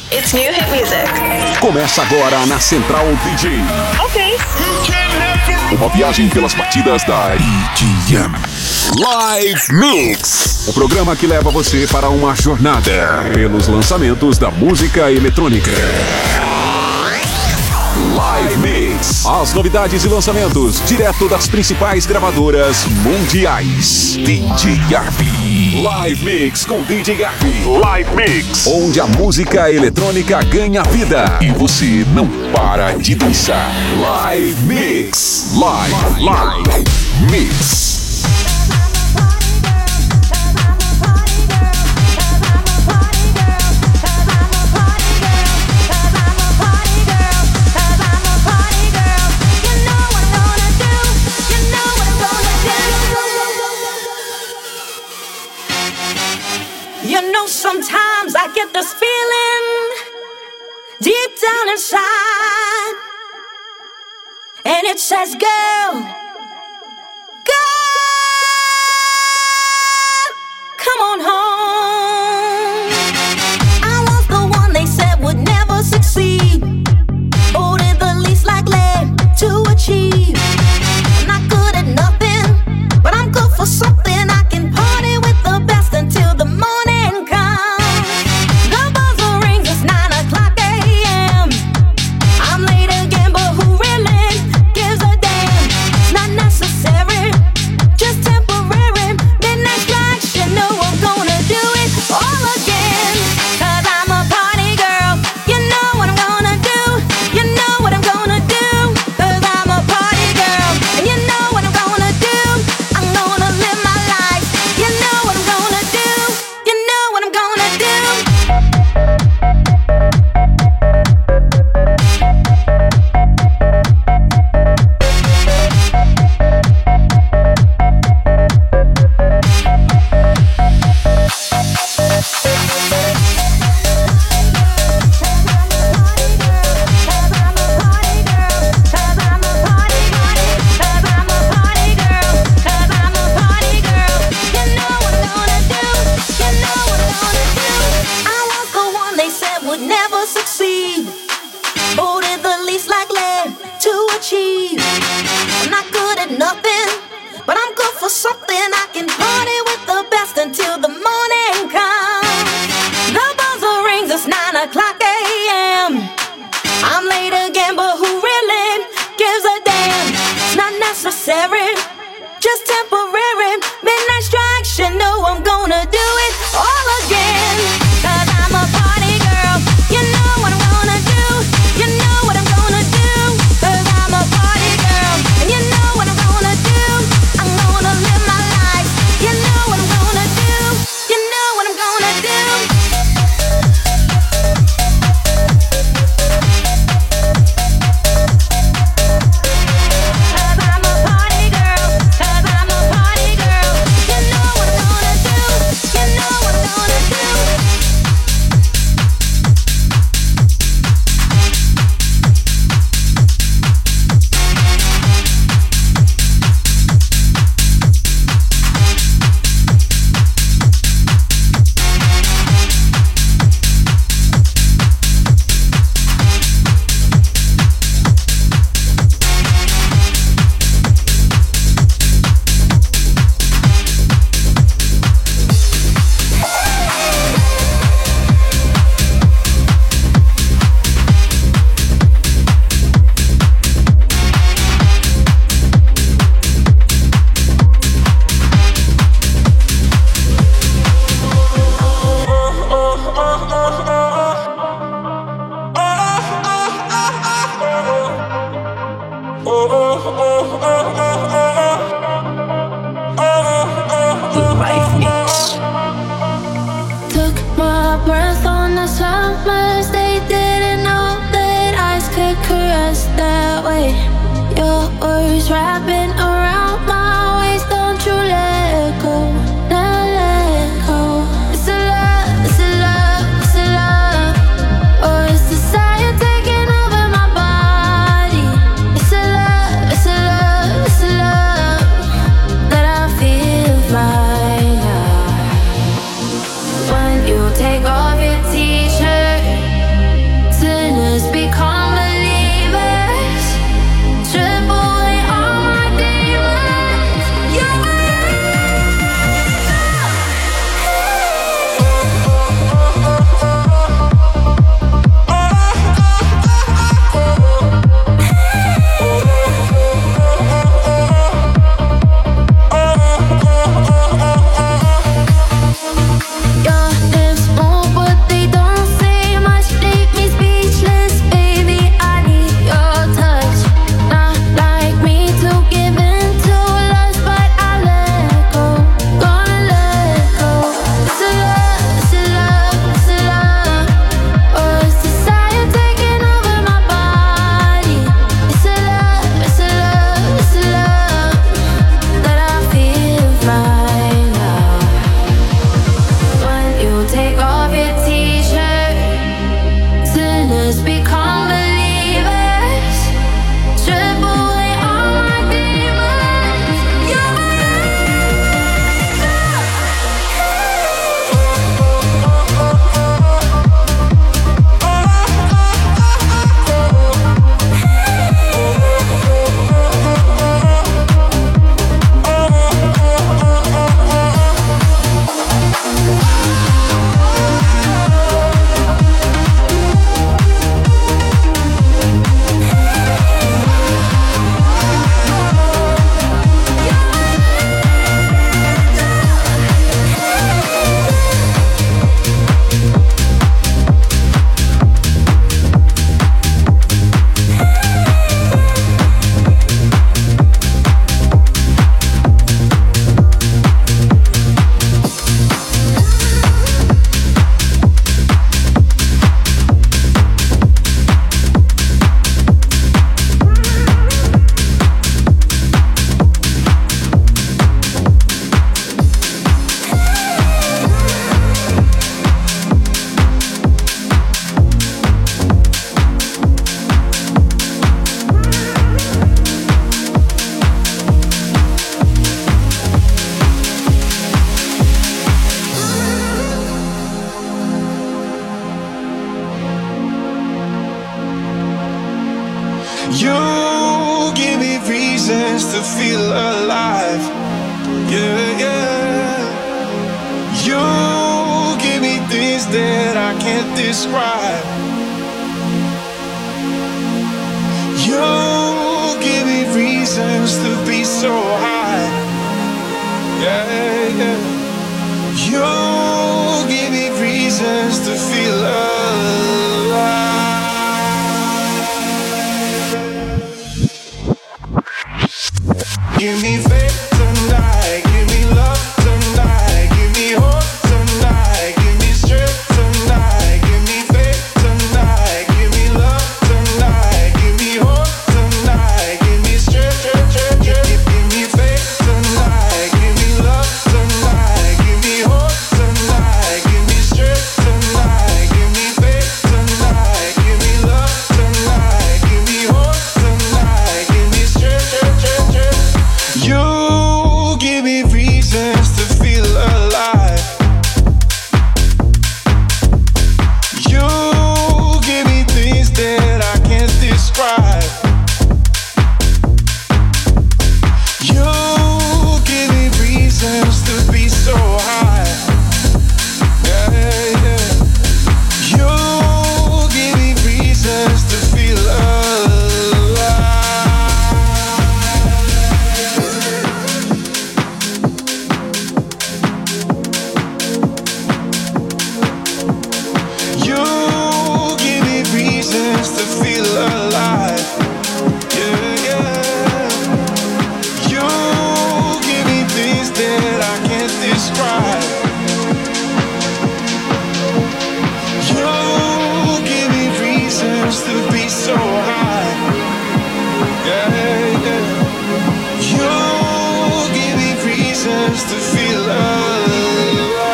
It's new hit music. Começa agora na Central DJ. Ok. Uma viagem pelas batidas da EDM. Live Mix. O programa que leva você para uma jornada pelos lançamentos da música eletrônica. Live Mix. As novidades e lançamentos direto das principais gravadoras mundiais. DJ Garbi. Live Mix com DJ Garbi. Live Mix. Onde a música eletrônica ganha vida e você não para de dançar. Live Mix. Live Mix. Sometimes I get this feeling deep down inside, and it says, girl, come on home. I was the one they said would never succeed, or did the least likely to achieve. I'm not good at nothing, but I'm good for something. I can party with the best until the morning. Take off your t-shirt. You give me reasons to feel alive. Yeah, yeah. You give me things that I can't describe. You give me reasons to be so high. Yeah, yeah. You give me reasons to feel alive. Give me faith tonight, give me love tonight, give me hope tonight, give me strength tonight, give me faith tonight, give me love tonight, give me hope tonight, give me strength, give me faith tonight, give me love tonight, give me hope tonight, give me strength tonight, give me faith tonight, give me love tonight, give me hope tonight, give me strength. You give me reasons to feel alive. You give me things that I can't describe. You give me reasons to be so high. Yeah, yeah. You give me reasons to feel alive. To feel alive, yeah, yeah. You give me things that I can't describe. You give me reasons to be so high, yeah, yeah. You give me reasons to feel alive.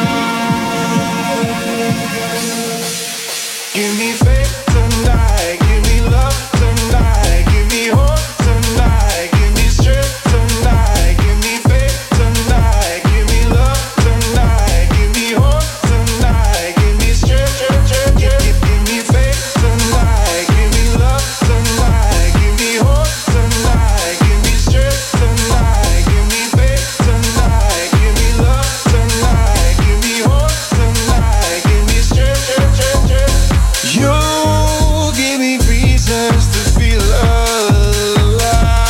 Give me faith tonight, give me love tonight, give me hope tonight, give me strength tonight, give me faith tonight, give me love tonight, give me hope tonight, give me strength, give me faith tonight, give me love tonight, give me hope tonight, give me strength tonight, give me faith tonight, give me love tonight, give me hope tonight, give me strength. You give me reasons to feel alive.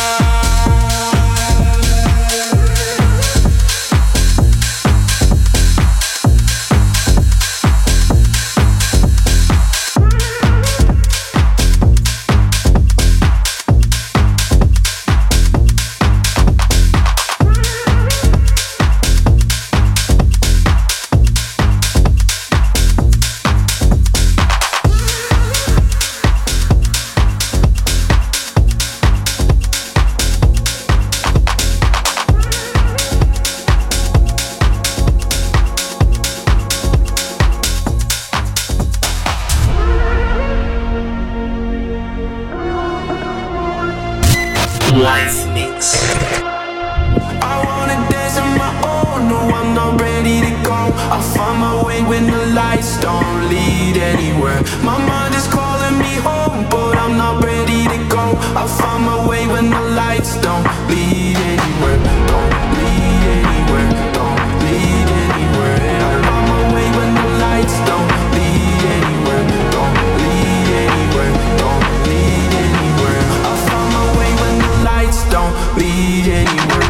Live Mix. I wanna dance on my own, no I'm not ready to go. I'll find my way when the lights don't lead anywhere. My mind is calling me home, but I'm not ready to go. I'll find my way when the lights don't lead anywhere. Don't lead anywhere, don't lead anywhere. I'll find my way when the lights don't lead anywhere. Don't lead anywhere, don't lead anywhere. I'll find my way when the lights don't lead anywhere.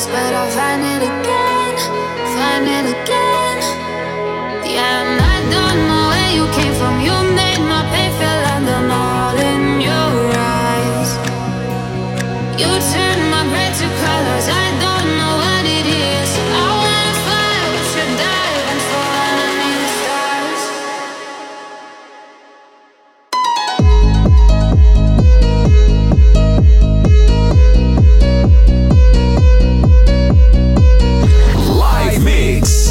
peace, but I'll find it again, find it again. Yeah, and I don't know where you came from. You made my pain feel like the all in your eyes. You turned my gray to colors. I don't know what it is. I wanna fly with you, dive and fall underneath the stars. Live Mix.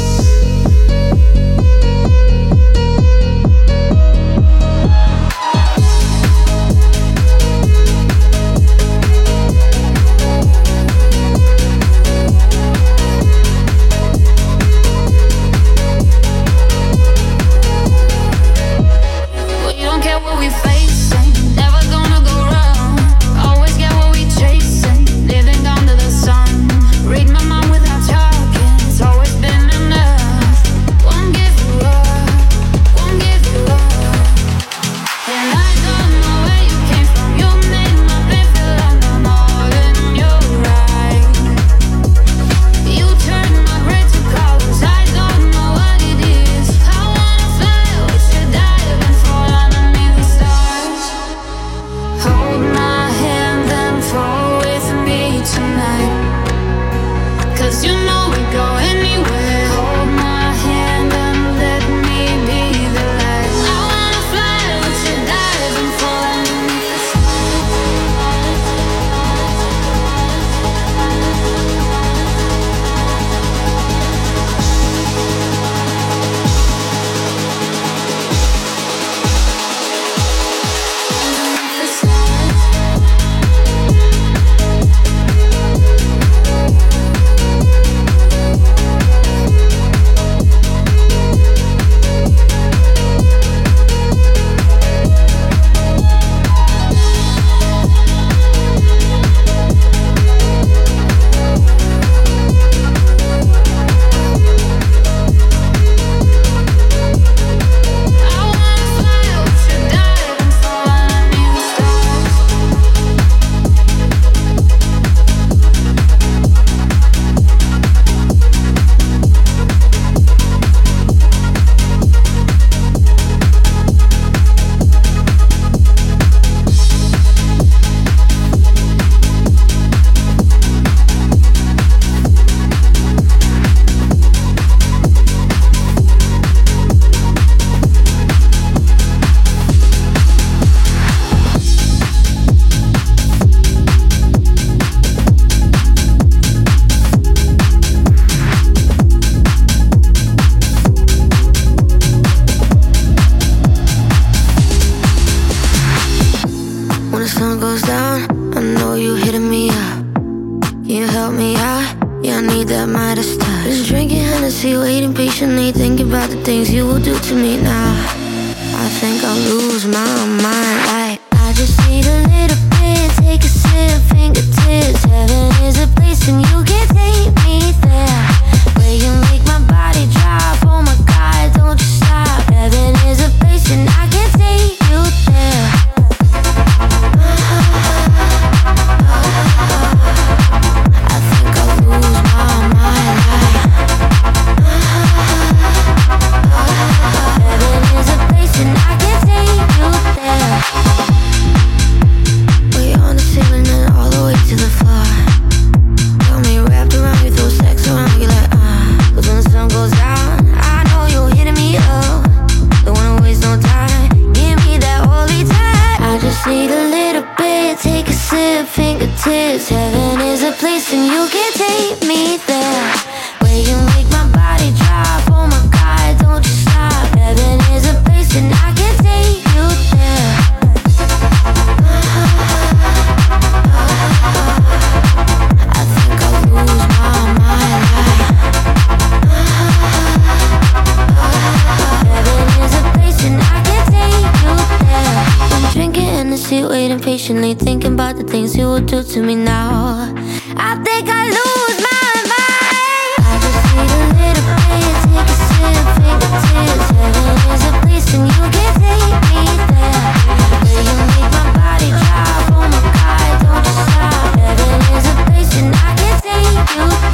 We don't care what we facing, never gonna go wrong. Always get what we chasing, living under the sun. Read my mind without talking, it's always been enough. Won't give you up, won't give you up. And I don't know where you came from. You made my pain feel like I'm all in your eyes. You turned my gray to colors. I don't know what it is. I wanna fly with you, dive and fall underneath the stars. Hold my hand and fall with me tonight. 'Cause you know we go anywhere. Hold my hand and let me be the light. I wanna fly with you, dive and fall underneath the When the sun goes down, I know you hitting me up. Can you help me out? Yeah, I need that Midas touch. Been drinking Hennessy, waiting patiently, thinking about the things you will do to me now. I think I'll lose my mind. I just need a little bit, take a sip, fingertips. Heaven is a place and you can take me there. Where you make my body drop, oh my God, don't you stop. Heaven is a place and I can take you there. I think I'll lose my mind. Heaven is a place and I can take you there. We're on the ceiling and all the way to the floor. Got me wrapped around you, throw sex around you like 'Cause when the sun goes down, I know you're hitting me up. Don't wanna waste no time, give me that holy time. I just need a little bit, take a sip, fingertips. Heaven is a place and you can take me there. Where you make my body drop, oh my God, don't you stop. Heaven is a place and I can take you there. I think I'll lose my mind. Heaven is a place and I can take you there. I'm drinking Hennessy, waiting patiently, thinking about the things you will do to me now. I think I lose my mind. I just need a little bit, take a sip, fingertips. Heaven is a place and you can take me there. Where you make my body drop, oh my God, don't you stop. Heaven is a place and I can take you there.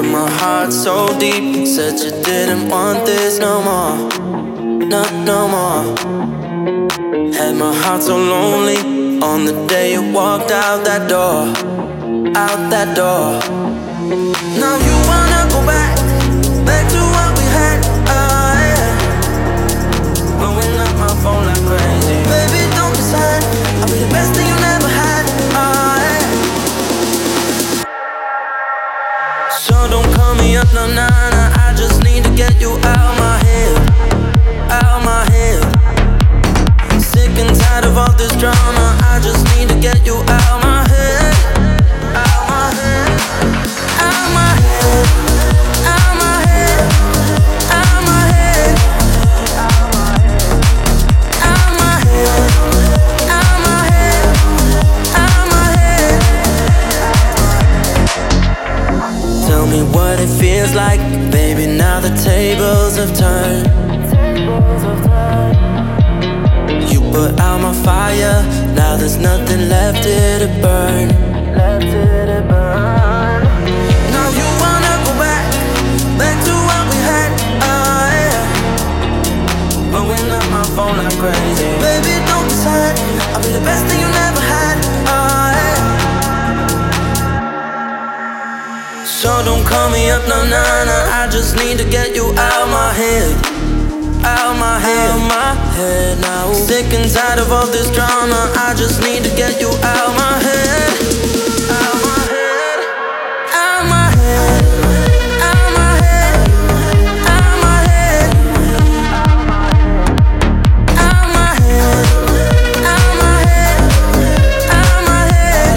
hurt my heart so deep. Said you didn't want this no more, no more. Had my heart so lonely on the day you walked out that door, out that door. Now you wanna go back to what we had, yeah. Blowing up my phone like crazy. Baby, don't be sad, I'll be the best thing you never had, yeah. So don't call me up, no, nah, I just need to get you out my head, out my head. Sick and tired of all this drama, I just need to get you out my head, out my head, out my head, out my head, out my head, out my head, out my head, out my head. Tell me what it feels like, baby, now the tables have turned. You put out my fire, now there's nothing left here to burn. Now you wanna go back to what we had, yeah. Blowing up my phone like crazy. Baby, don't be sad, I'll be the best thing you never had, yeah. So don't call me up, no, nah, I just need to get you out my head, out my head, out my head now. Sick and tired of all this drama, I just need to get you out my head, out my head, out my head, out my head, out my head, out my head, out my head, out my head.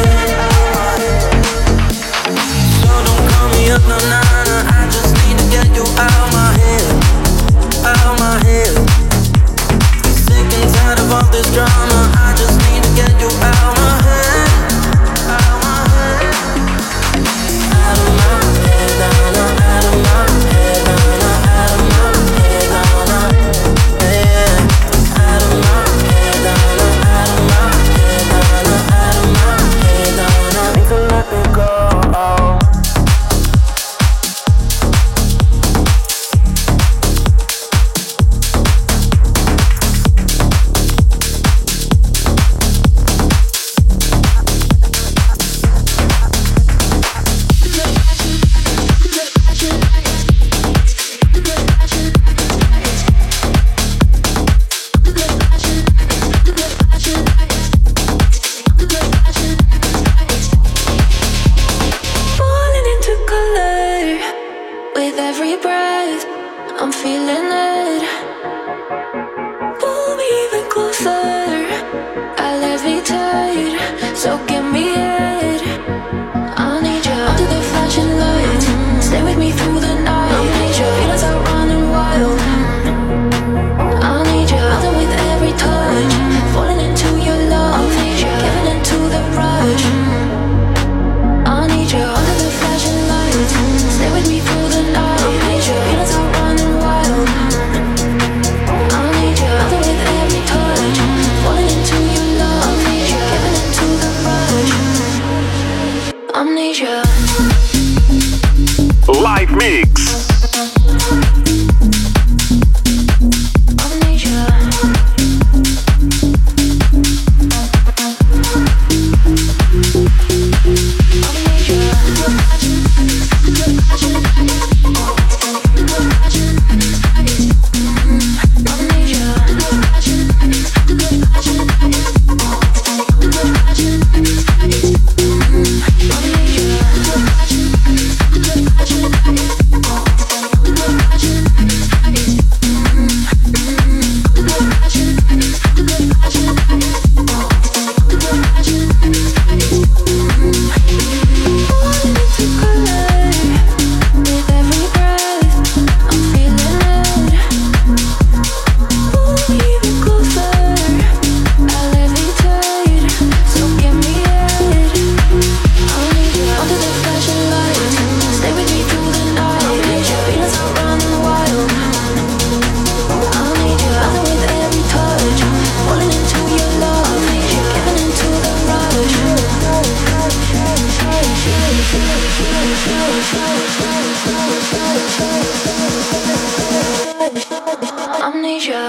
So don't call me up, no, nah, I just need to get you out my head, out my head. Sick and tired of all this drama, I just need to get you out my head, out my head, out of my head, out of my head, out of my head, yeah. Out of my head, out of my head, out of my head, need to let me go. Falling into color with every breath. I'm feeling it. Pull me even closer. I levitate, so give me it. I need you under the flashing lights. Stay with me through the night. I need you. Feelings are running wild. I need you under with every touch. Falling into your love. I need you. Giving into the rush. I need you under the flashing lights. Stay with me through the night. I need you. Feelings are running wild. I need you under with every touch. Falling into your love. I need you. Giving into the rush. Amnesia. Live Mix. Amnesia. Show. Amnesia.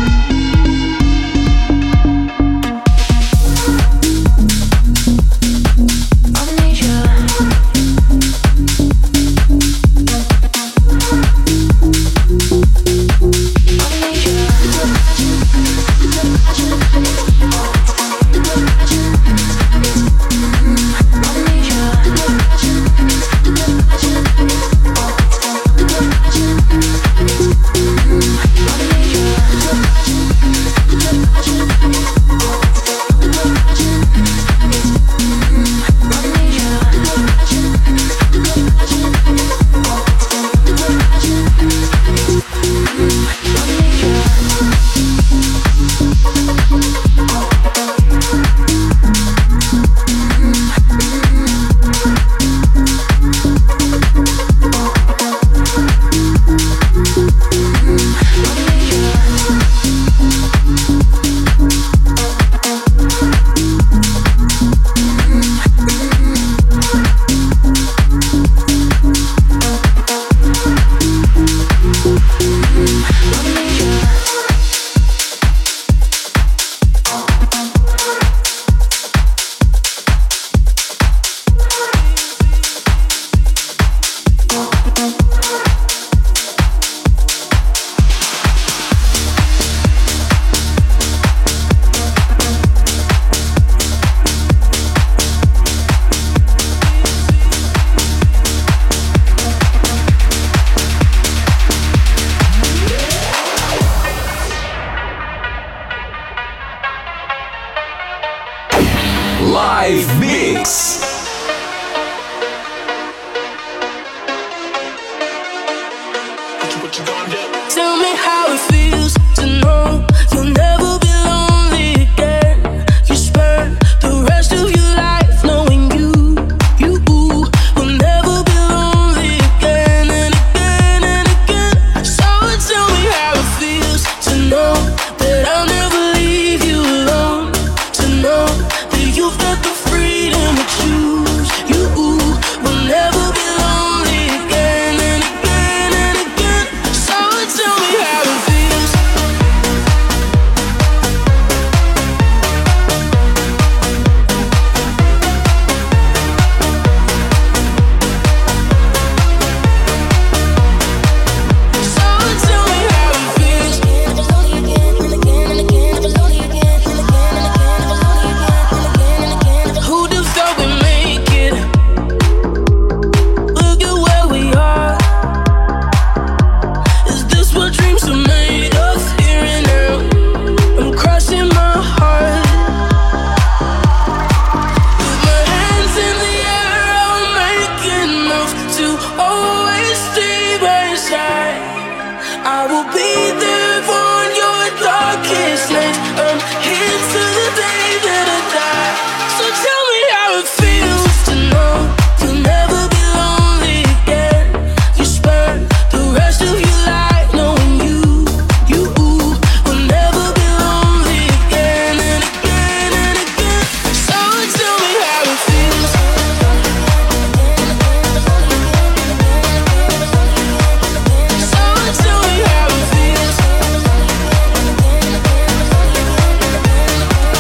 Live Mix. Tell me how it feels to know you'll never be lonely again. You spend the rest of your life knowing you will never be lonely again and again and again. So tell me how it feels to know that I'll never leave you alone. To know that you've got the freedom to choose. You will never be lonely again and again and again. So tell me how it feels. So tell me how it feels. Never lonely again, and again and again. Never lonely again, and again and again. Never lonely again, and again and again. Who'd have thought we'd make it? Look at where we are. Is this what dreams are made of? Here and now, I'm crossing my heart. With my hands in the air, I'll make enough to always stay by your side. I will be there on your darkest night. I'm here till the day that I die. So tell me how it feels to know you'll never be lonely again. You spend the rest of your life knowing you will never be lonely again and again and again. So tell me how it feels. So tell me how it feels.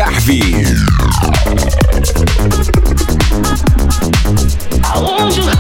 Garvey. I want you.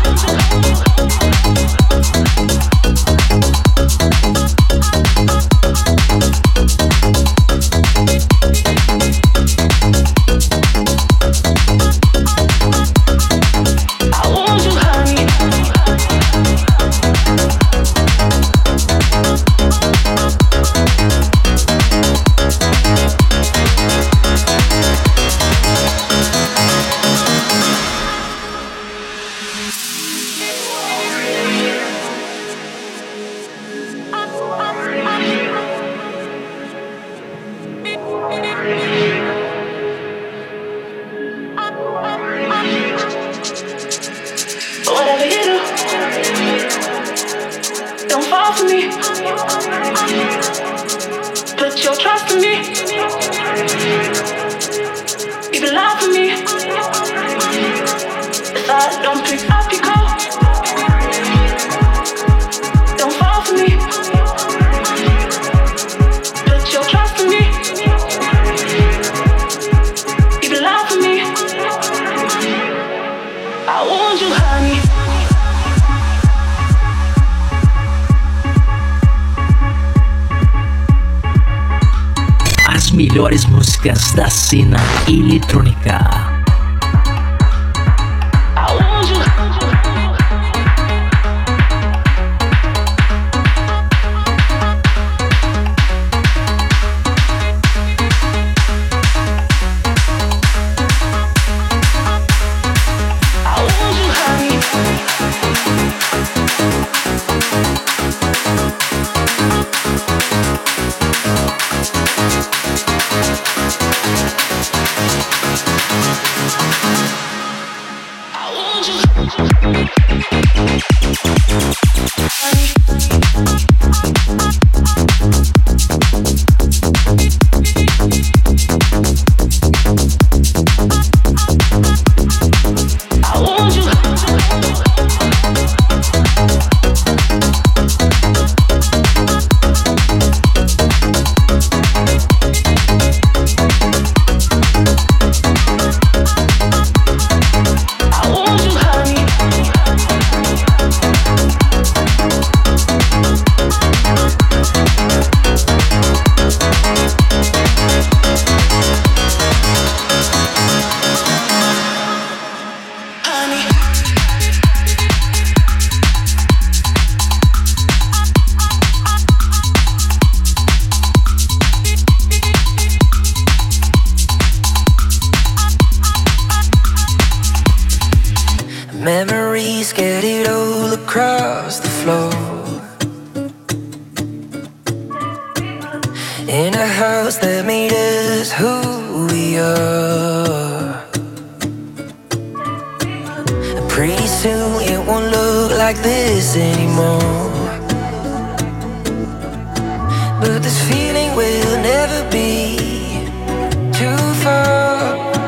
Whatever you do, don't fall for me. Put your trust in me. You can lie for me. If I don't pick up your call, don't fall for me. Put your trust in me. You can lie for me. I want you, honey. As melhores músicas da cena eletrônica. Memories scattered all across the floor. In a house that made us who we are. Pretty soon it won't look like this anymore. But this feeling will never be too far.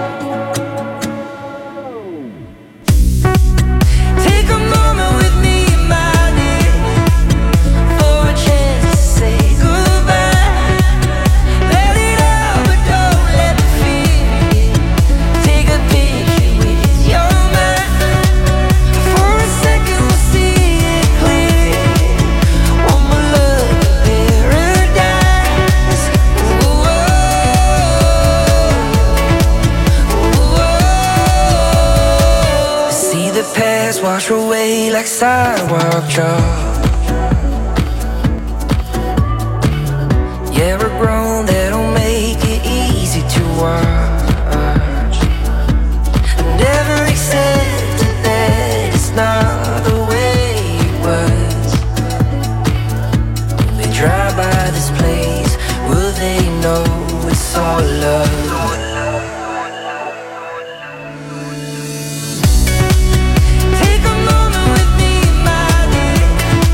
Wash away like sidewalk chalk. Yeah, we're grown, that don't make it easy to watch. Never accepted that it's not the way it was. When they drive by this place, will they know it's all love? Take a moment with me, my dear.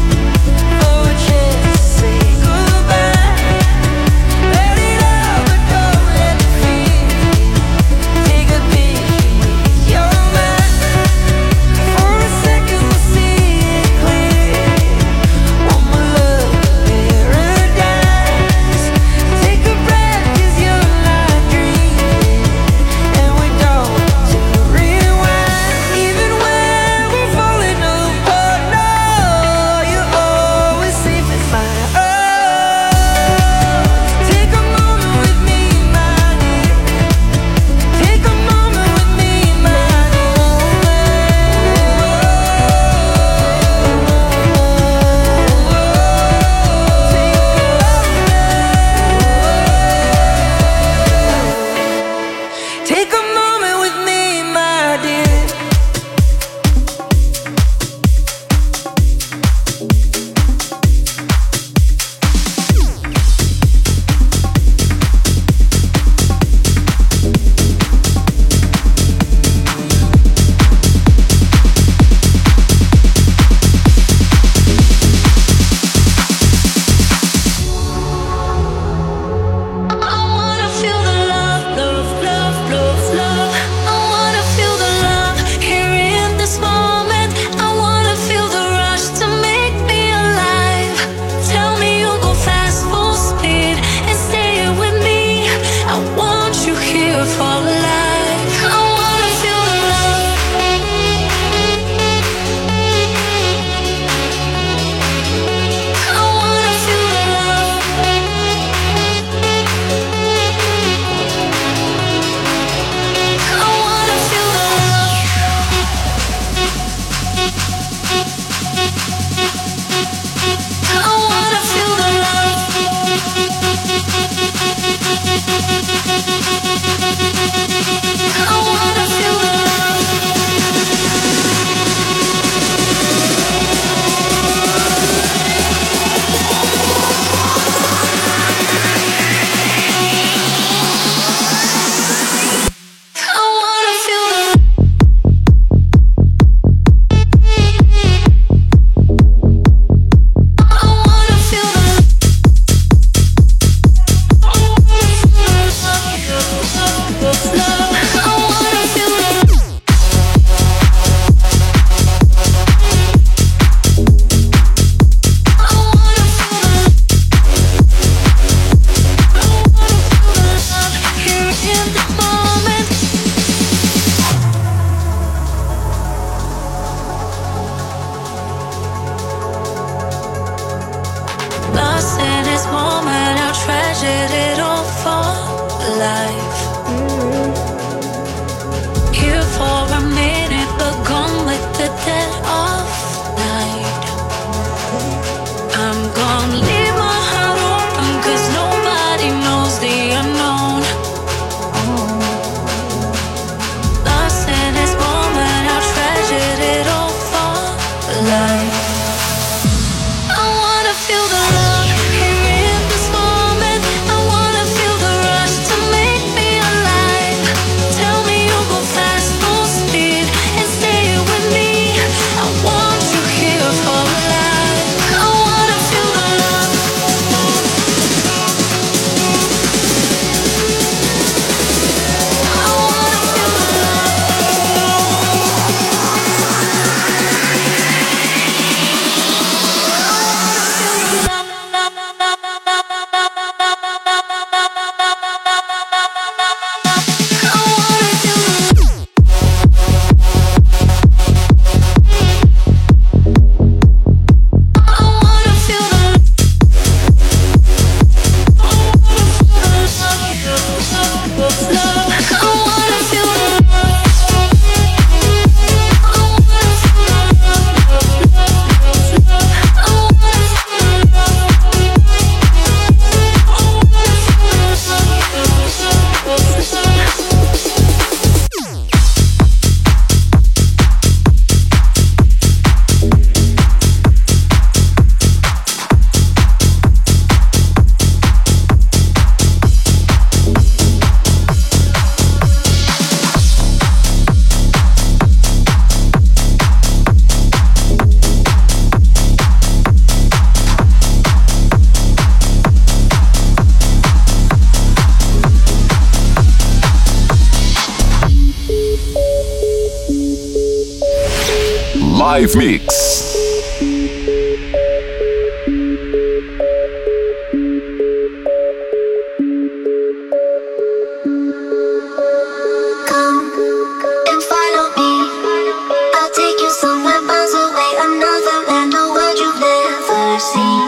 this moment, I treasured it all for life. Here for a minute, but gone with the dead of night. I'm gonna leave my heart open, 'cause nobody knows the unknown. Lost in this moment, I treasured it all for life. I wanna feel the love here in this moment. I wanna feel the rush to make me alive. Tell me you'll go fast, full speed, and stay with me. I want you here for life. I wanna feel the love. I wanna feel the Live Mix. Come and follow me. I'll take you somewhere miles away, another land, a world you've never seen.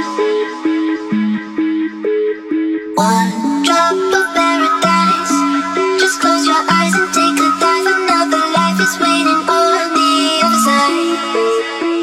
One drop of paradise. Just close your eyes and take a dive. Another life is waiting on the other side.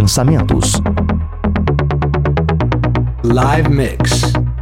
lançamentos. Live Mix.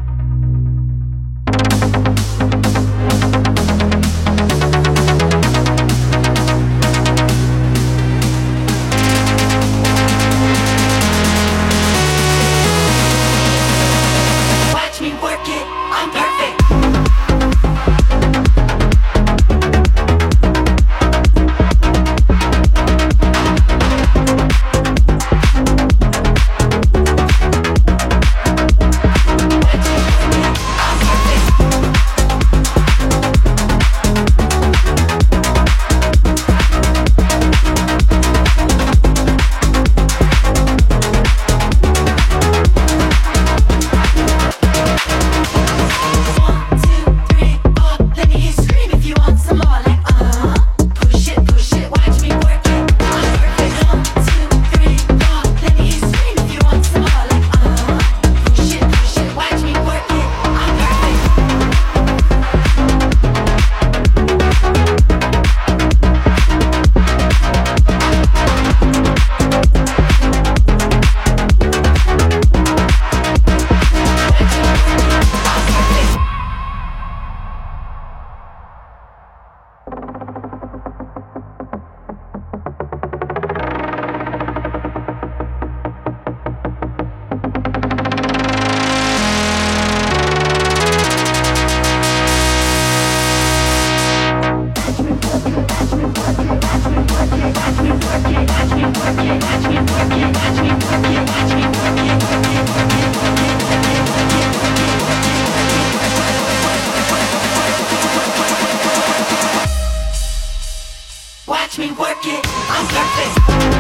Watch me work it, I'm perfect.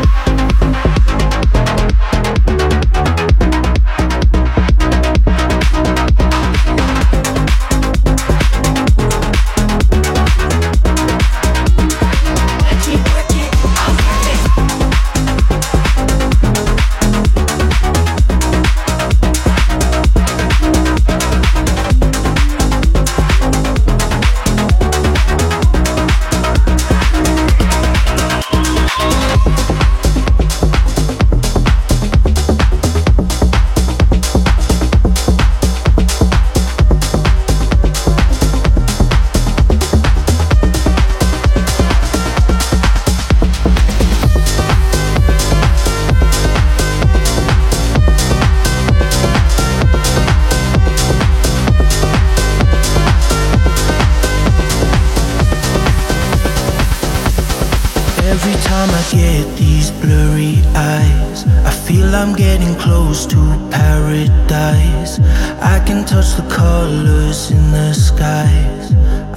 Every time I get these blurry eyes, I feel I'm getting close to paradise. I can touch the colors in the skies.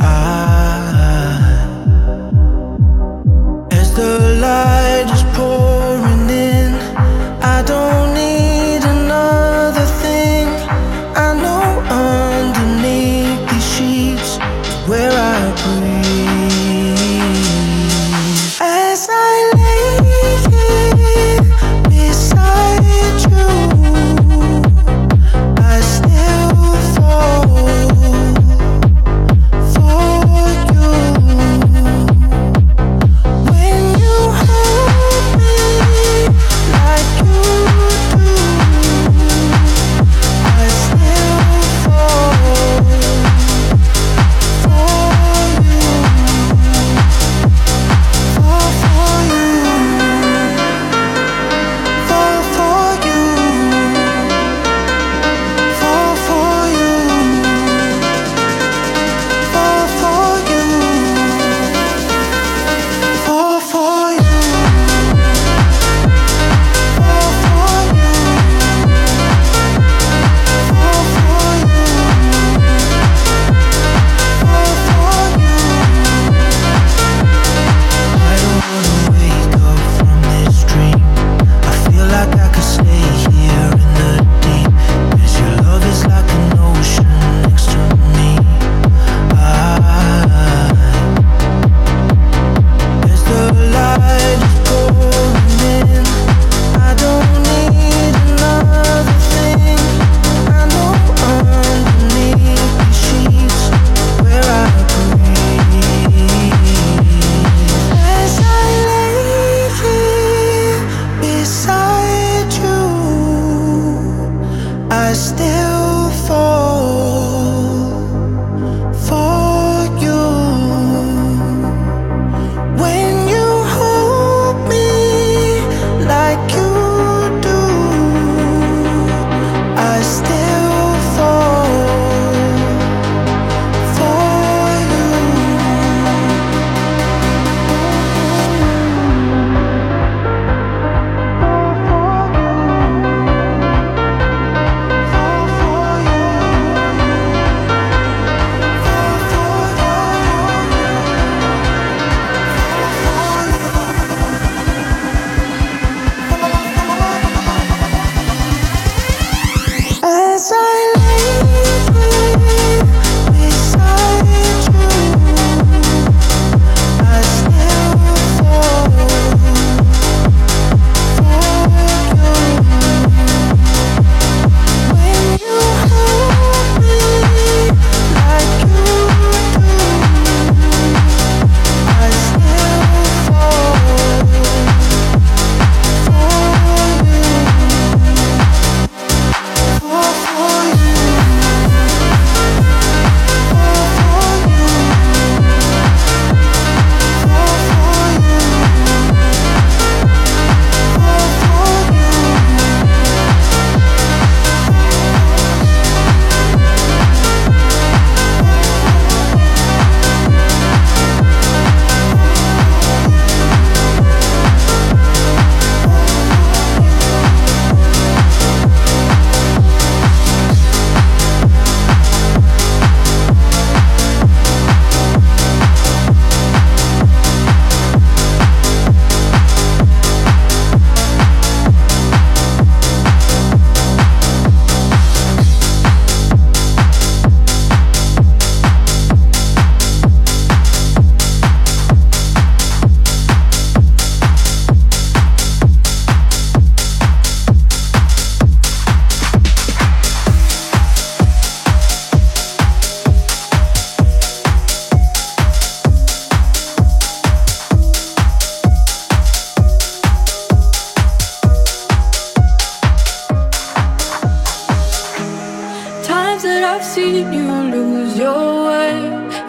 As the light is pouring in, I don't need another thing. I know underneath these sheets where I breathe. As I lay here beside you, I still fall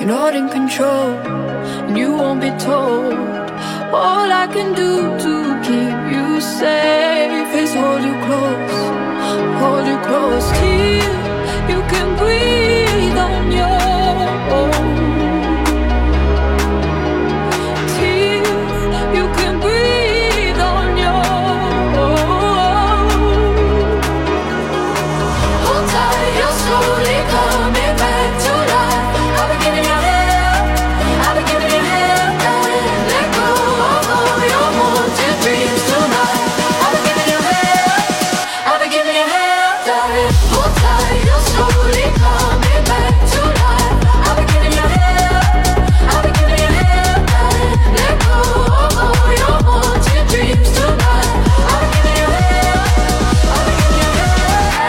not in control, and you won't be told. All I can do to keep you safe is hold you close till you can breathe on your own. Till you can breathe on your own. Hold tight, you're slowly coming back to life. I've been giving you hell, I've been giving you hell, darling. Let go of all your haunted dreams tonight. I've been giving you hell, I've been giving you hell, darling. Hold tight, you're slowly coming back to life. I've been giving you hell, I've been giving you hell, darling. Let go of all your haunted dreams tonight. I've been giving you hell, I've been giving you hell.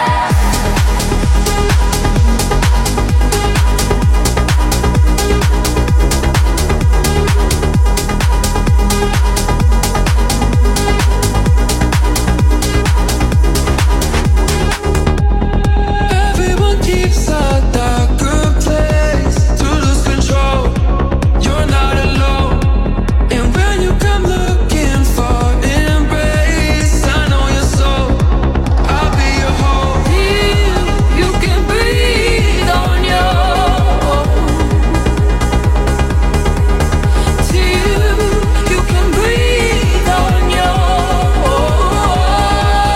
Everyone keeps a darker place to lose control. You're not alone. And when you come looking for embrace, I know your soul. I'll be your home. Till you can breathe on your own. Till you can breathe on your own.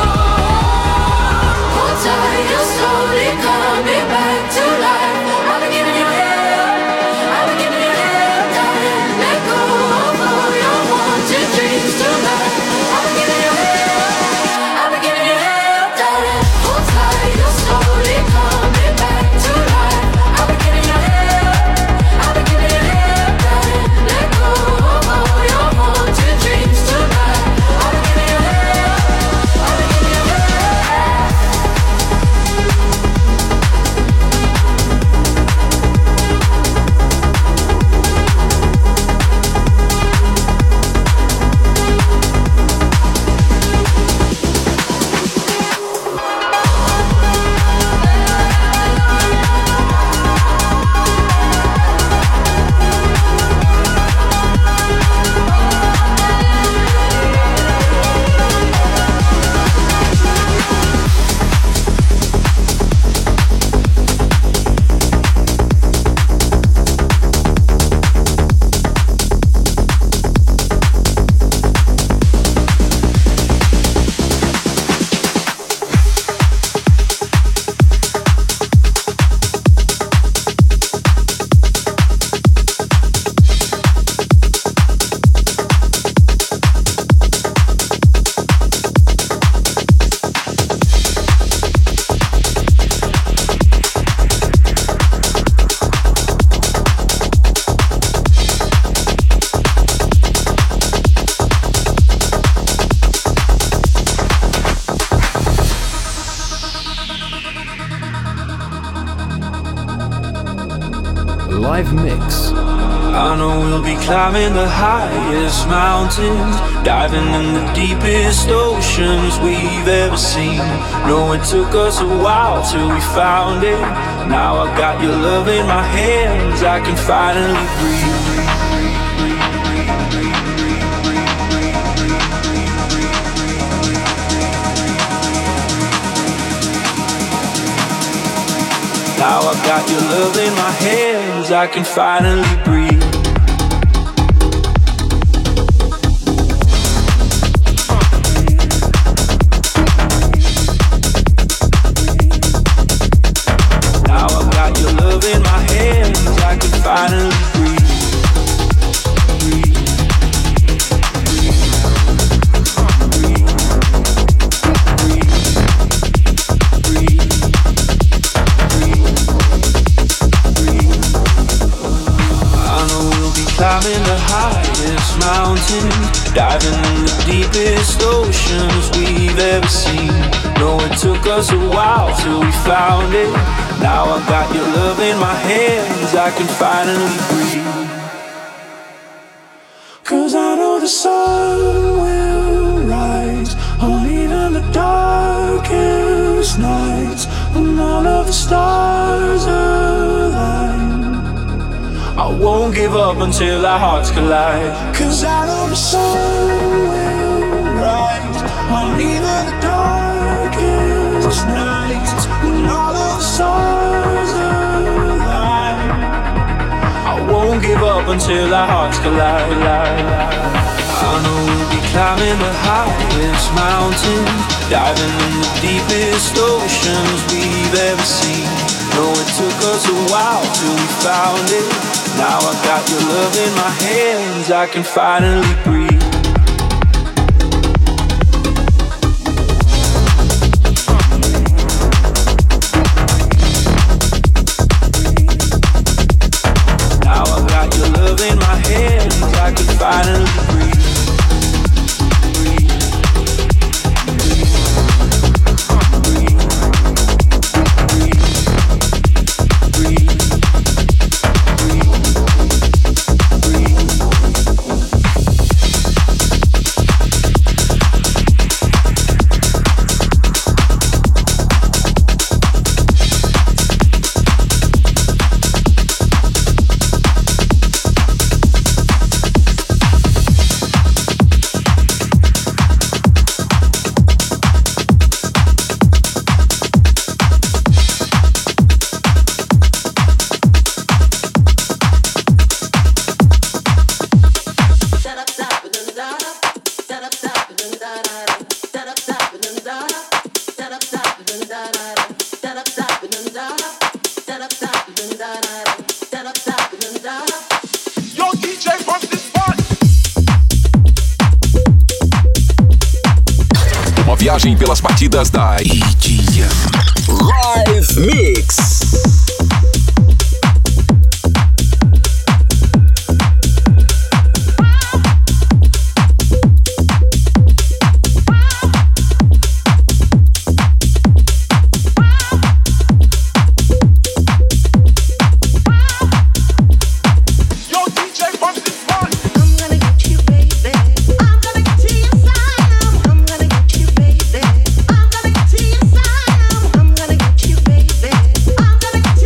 Hold tight, you're slowly coming back to life. I've been giving you hell, I've been giving you hell, darling. Let go of all your wanted dreams tonight. I've been giving you hell, I've been giving you hell, darling. Hold tight, you're slowly coming back to life. I've been giving you hell, I've been giving you hell, darling. Let go of all your wanted dreams tonight. I've been giving you hell, I've been giving you hell. Live mix. I know we'll be climbing the highest mountains, diving in the deepest oceans we've ever seen. No, it took us a while till we found it. Now I got your love in my hands, I can finally breathe. Now I got your love in my hands, I can finally breathe. Now I got your love in my hands, I can finally breathe. Climbing the highest mountains, diving in the deepest oceans we've ever seen. No, it took us a while till we found it. Now I got your love in my hands, I can finally breathe. 'Cause I know the sun will rise on even the darkest nights, when all of the stars align. I won't give up until our hearts collide. 'Cause I know the sun will rise on even the darkest nights when all of the stars align. I won't give up until our hearts collide. I know we'll be climbing the highest mountains, diving in the deepest oceans we've ever seen. No, it took us a while till we found it. Now I got your love in my hands, I can finally breathe. Now I got your love in my hands, I can finally breathe. Viagem pelas batidas da EDM Live Mix. I'm gonna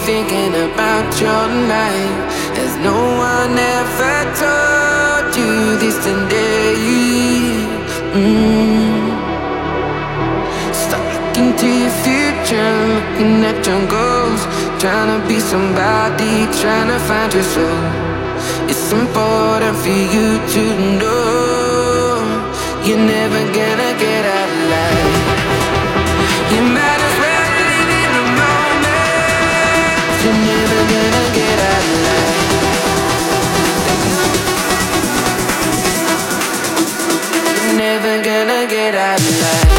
thinking about your life as no one ever told you this today. Stop looking to your future, looking at your goals, trying to be somebody, trying to find your soul. It's important for you to know you're never gonna get out alive. You might as well live in the moment. You're never gonna get out alive. You're never gonna get out alive.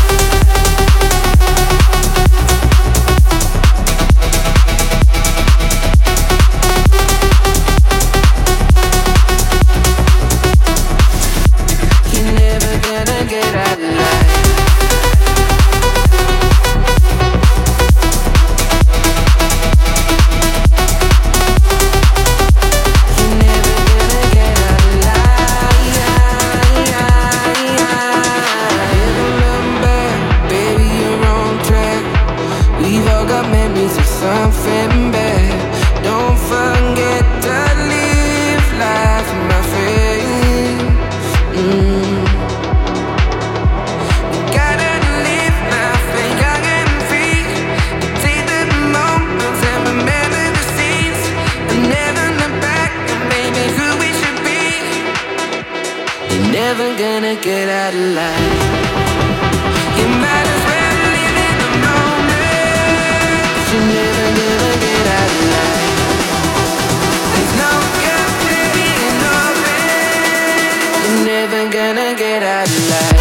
Get out alive. You might as well live in the moment. You're never gonna get out alive. There's no getting over it. You're never gonna get out alive.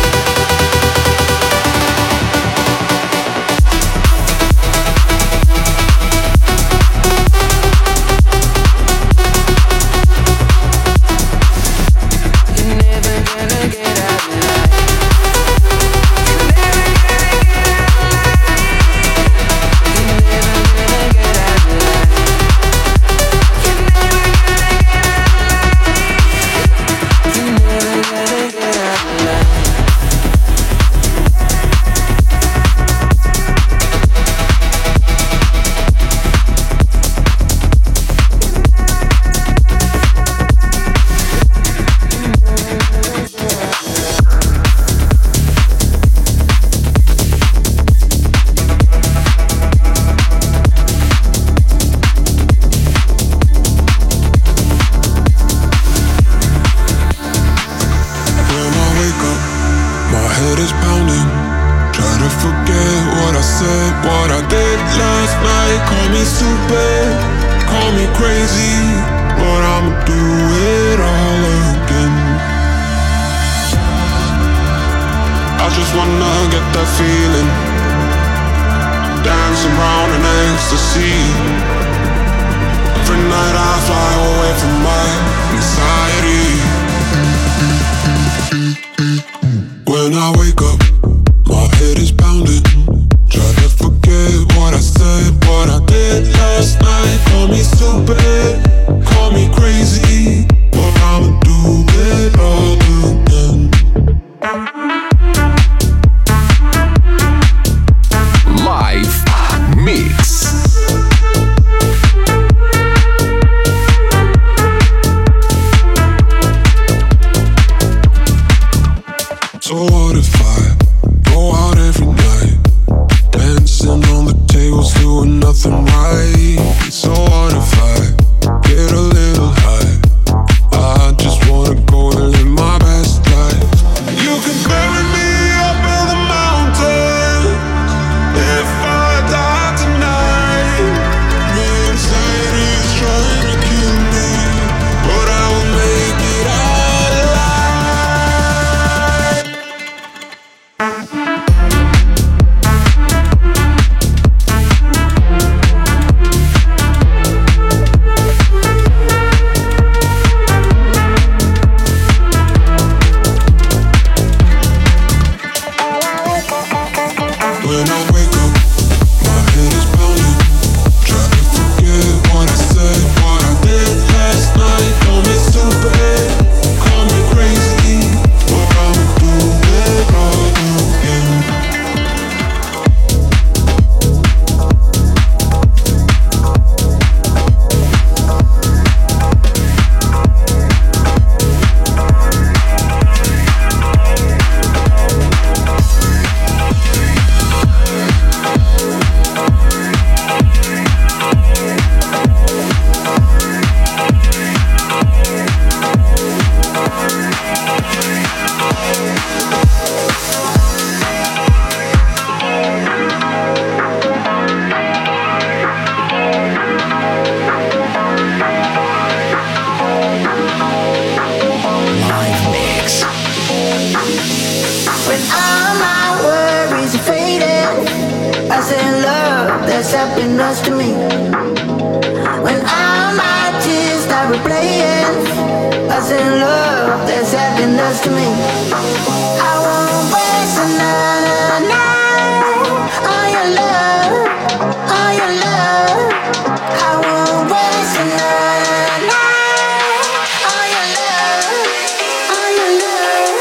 that's happiness to me. When all my tears start replaying, I say love, that's happiness to me. I won't waste another night on your love, on your love. I won't waste another night on your love, on your love.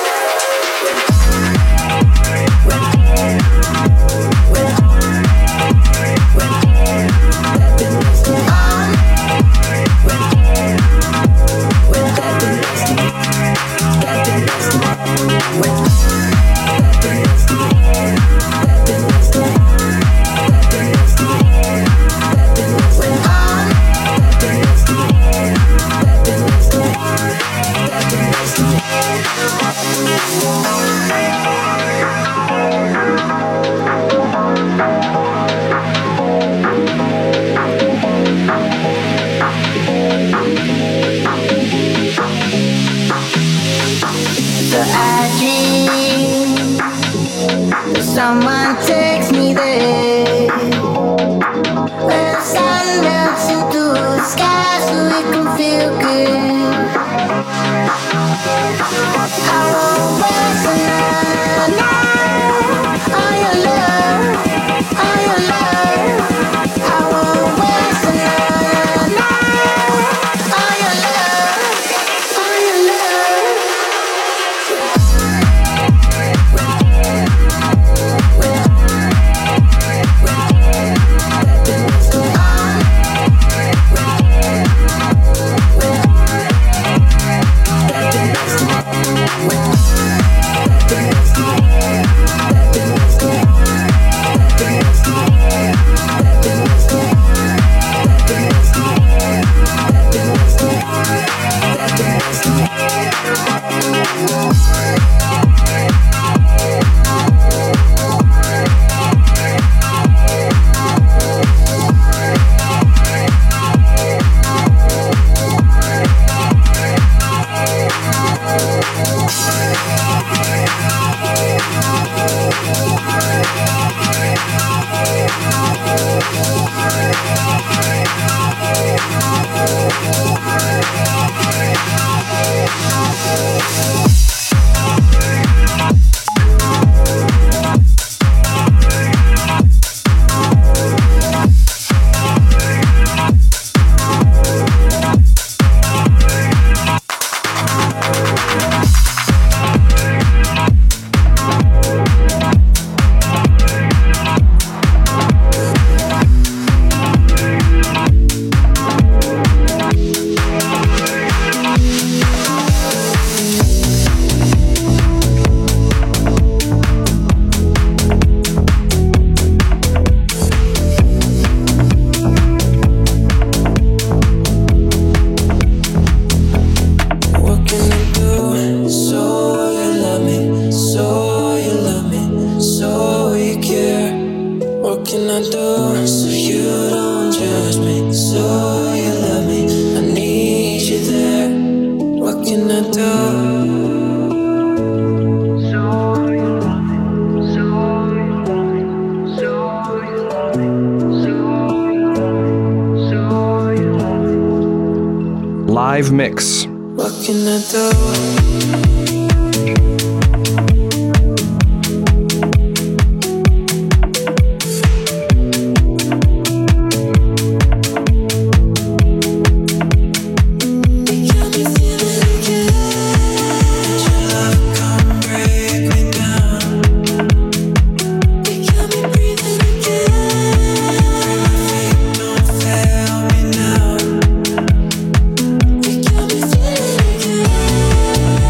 Someone takes me there, where the sun melts into the sky so we can feel good. I won't waste another night on your love, on your love. I won't waste another night on your love, on your love. Live mix. What can I do? Again.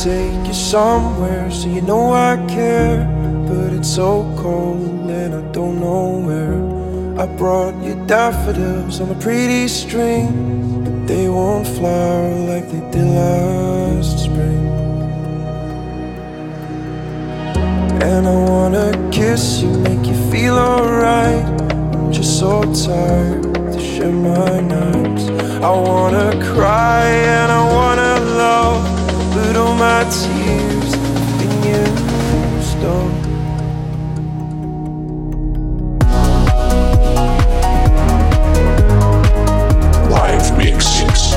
take you somewhere, so you know I care. But it's so cold and I don't know where. I brought you daffodils on a pretty string, but they won't flower like they did last spring. And I wanna kiss you, make you feel alright. I'm just so tired to share my nights. I wanna cry and I wanna love, but all my tears have been used up. Live Mix.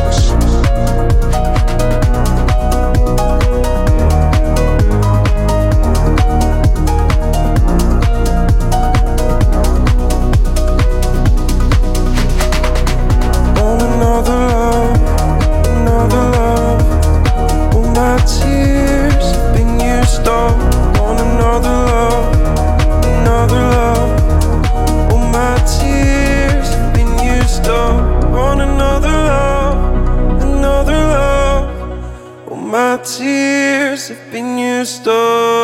Tears have been used up.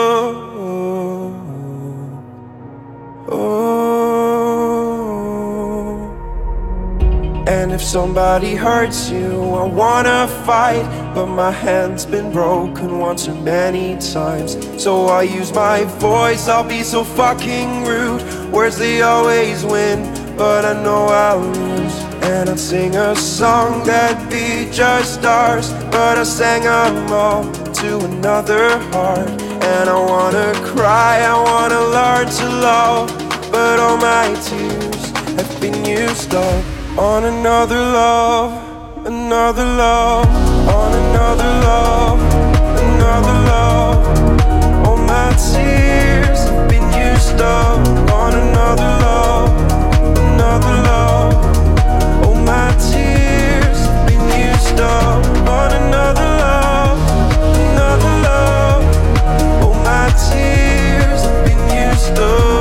And if somebody hurts you, I wanna fight, but my hand's been broken once too many times. So I use my voice, I'll be so fucking rude. Words, they always win, but I know I'll lose. And I'd sing a song that'd be just ours, but I sang them all to another heart. And I wanna cry, I wanna learn to love, but all my tears have been used up on another love, another love, on another love, another love. All my tears have been used up on another love, another love. All my tears have been used up on another love, another love. All my tears have been used up.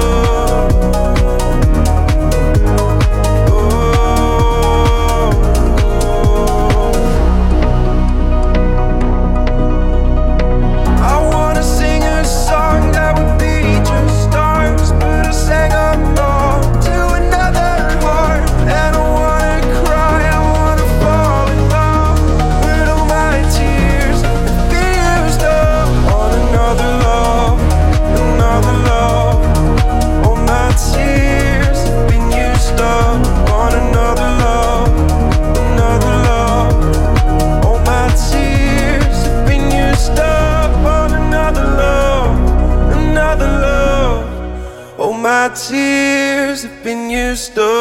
My tears have been used up.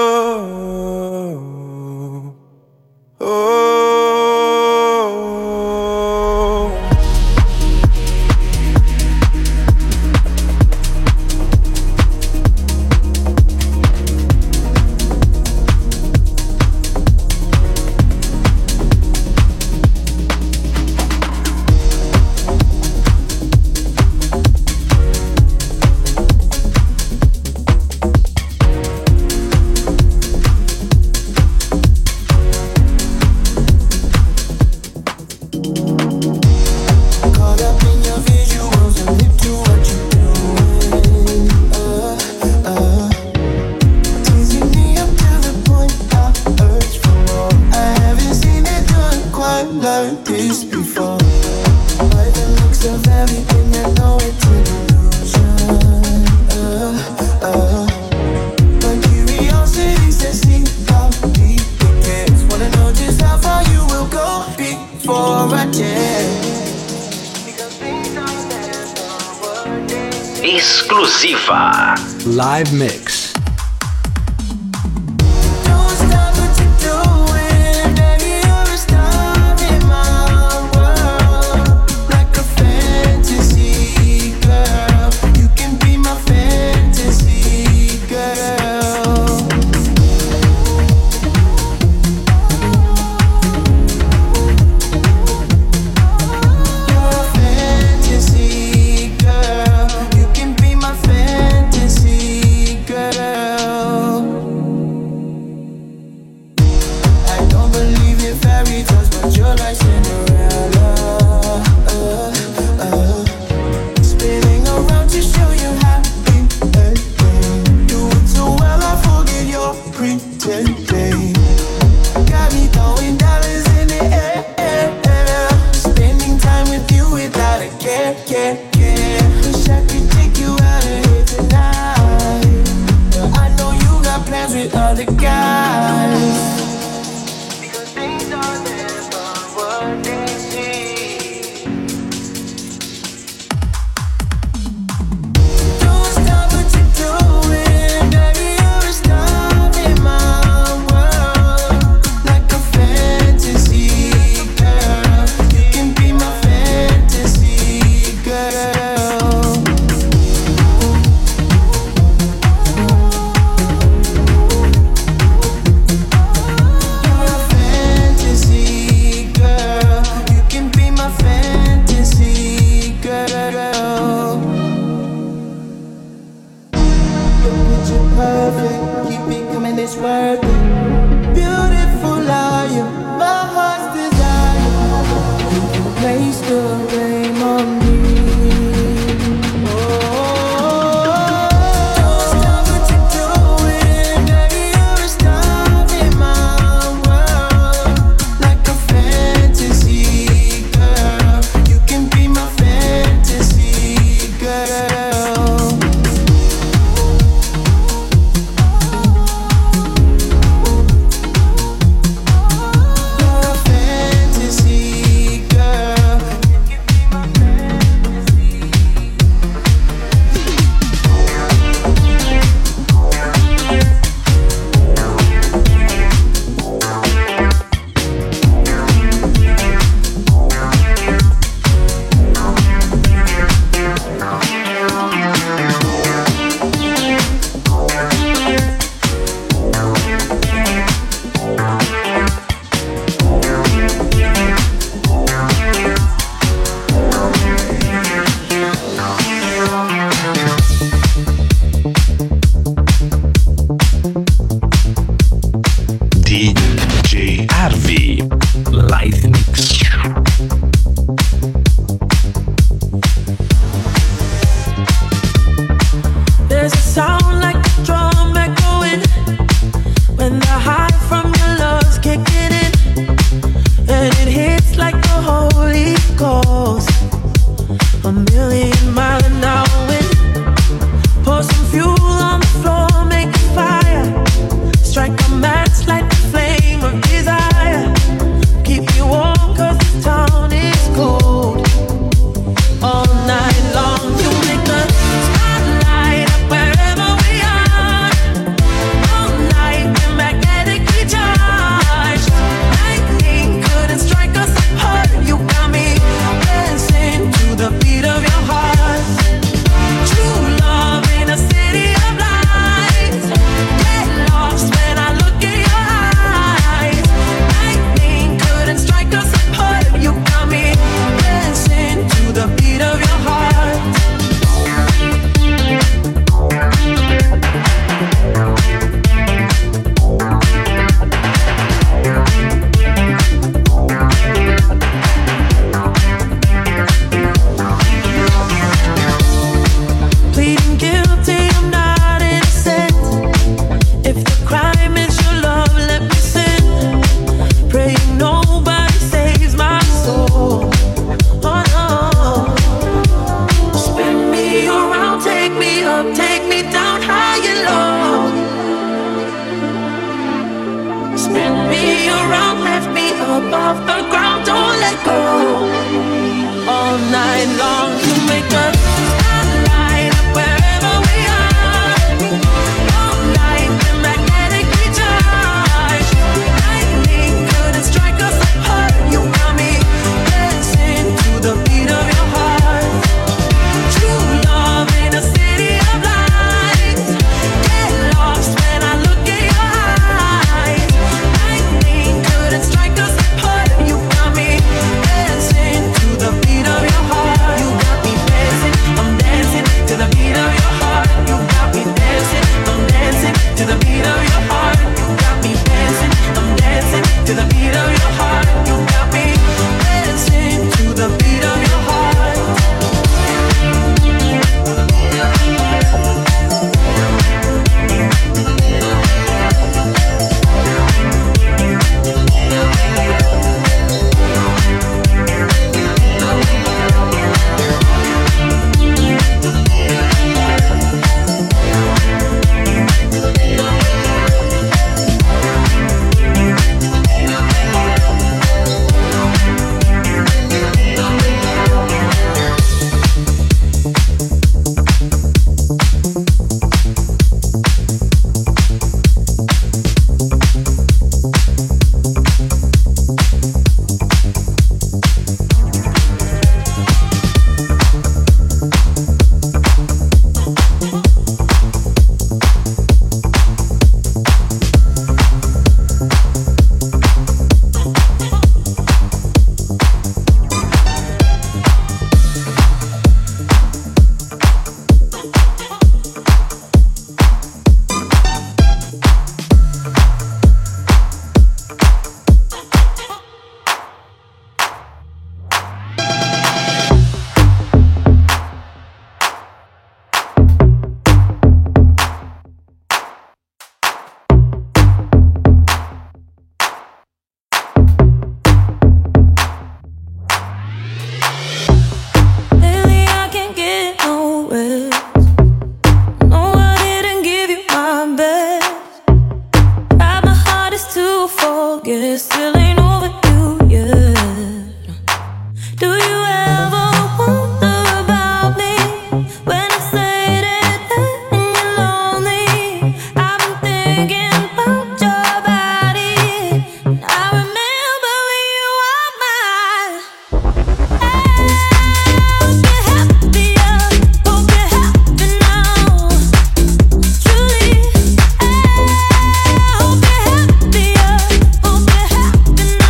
Exclusiva Live Mix. Fantasy girl, DJ Arvi. Live Mix. There's a sound like a drum echoing when the high from your love's kicking in, and it hits like the Holy Ghost, 1,000,000 miles an hour wind. Pour some fuel on the floor, make a fire, strike a match, light the flame of desire. Keep me warm 'cause the town is cold. All night long you make the spotlight up wherever we are. All night we're magnetically charged. Lightning couldn't strike us apart. You got me dancing to the beat of your heart. True love in a city of lights. Get lost when I look in your eyes. Lightning couldn't strike us apart. You got me dancing to the beat of your heart. Pleading guilty, I'm not innocent. If the crime is your love, let me sin. Praying nobody saves my soul. Oh no. Spin me around, take me up, take me down high and low. Spin me around, lift me up off the ground, don't let go. All night long you make us spotlight up wherever we are. All night we're magnetically charged. Lightning couldn't strike us apart. You got me dancing to the beat of your heart. True love in a city of lights. Get lost when I look in your eyes. Lightning couldn't strike us apart. You got me dancing to the beat of your heart. You got me dancing, I'm dancing to the beat of your heart. You got me dancing, I'm dancing to the beat of your heart. You got me dancing, I'm dancing to the beat of your heart. You got me dancing to the beat of your heart. Lately I can't get no rest. No, I didn't give you my best. Tried my hardest to forget, still ain't over you yet. Do you ever wonder about me when I say that and you're lonely? I've been thinking about your body, and I remember when you were mine. Hope you're happier, hope you're happy now. Truly, hope you're happier, hope you're happy now.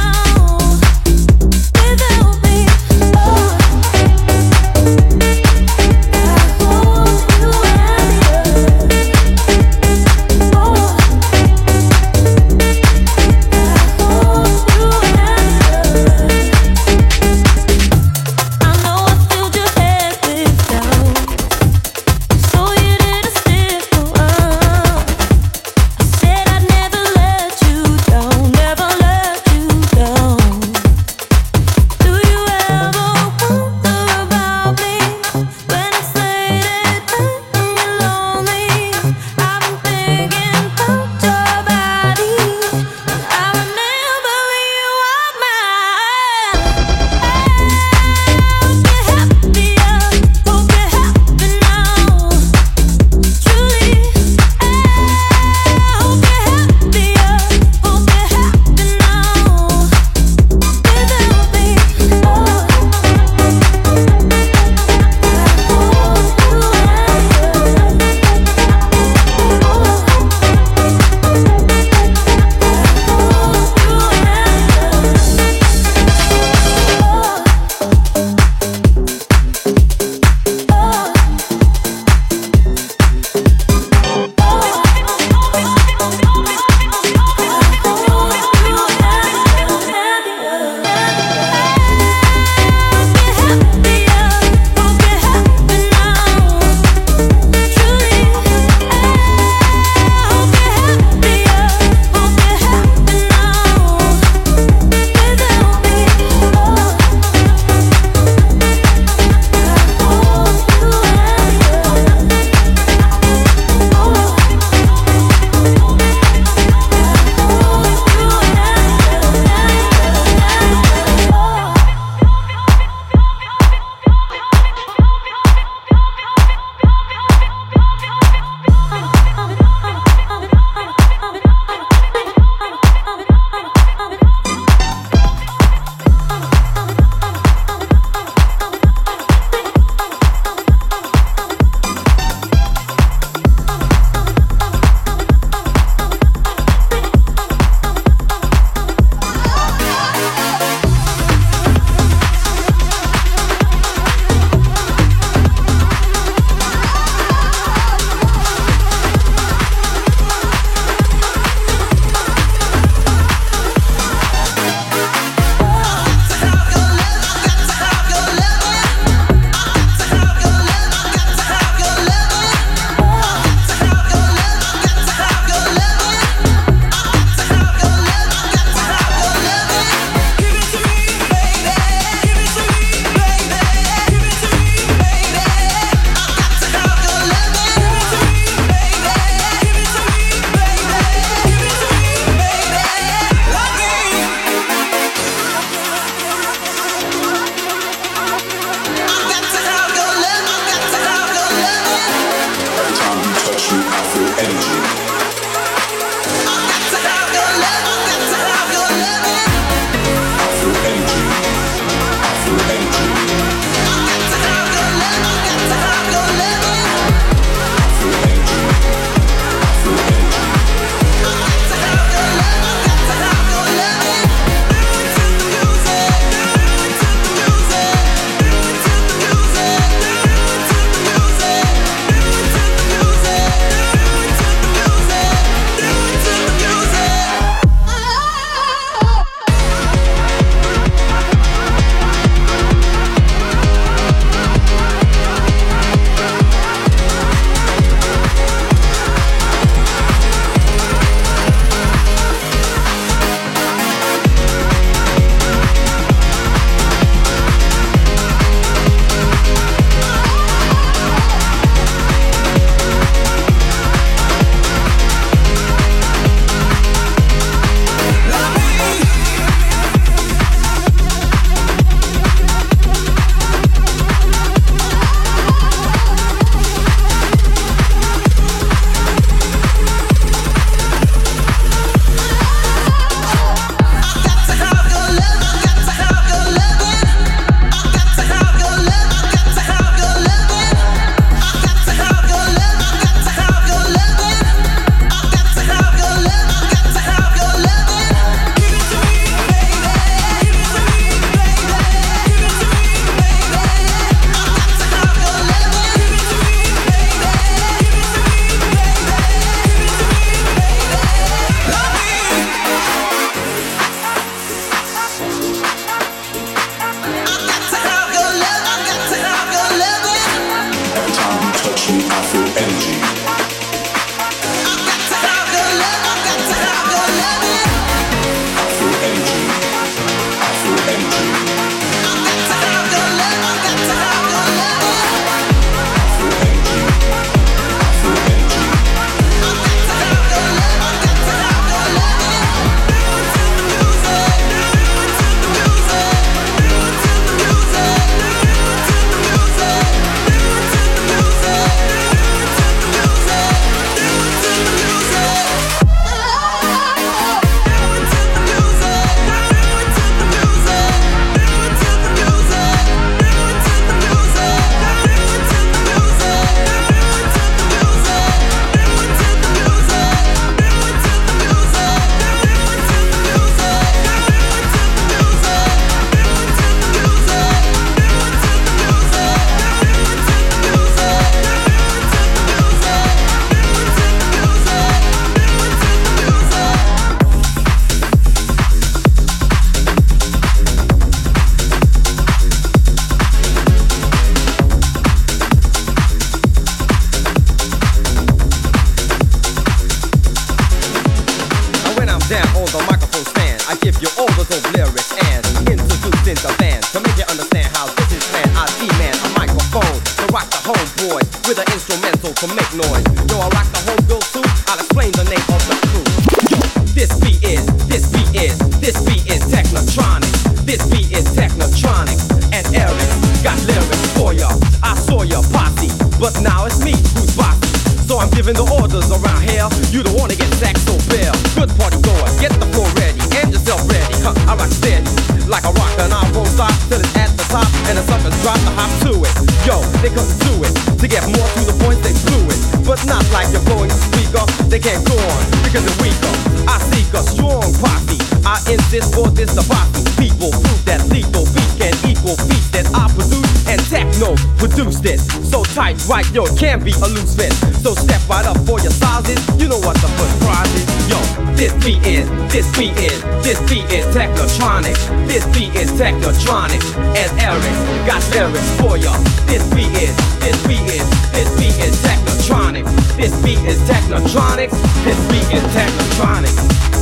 lyrics and introducing the band to make you understand how this is planned. I demand a microphone to rock the homeboys with an instrumental to make noise. Yo, I rock the homegirls too. I'll explain the name of the crew. Yo, this beat is Technotronic. This beat is Technotronic. And Eric got lyrics for ya. I saw ya posse, but now it's me who's bossy. So I'm giving the orders around here. You don't wanna get sacked so bare. Good party goers, get the floor ready and yourself ready. I rock steady like a rocker and I won't stop till it's at the top and the suckers drop the hop to it. Yo, they couldn't do it. To get more to the point, they blew it. But not like you're blowing the speaker. They can't go on because they're weaker. I seek a strong posse. I insist for this the posse. People prove that lethal beat can equal beats that I produce and techno produced it. So tight, right, yo, it can't be a loose fit. So step right up for your sizes. You know what the first prize is. Yo, this beat is Technotronic. This beat is Technotronic. And Eric got lyrics for ya. This beat is Technotronic. This beat is Technotronic. This beat is Technotronic.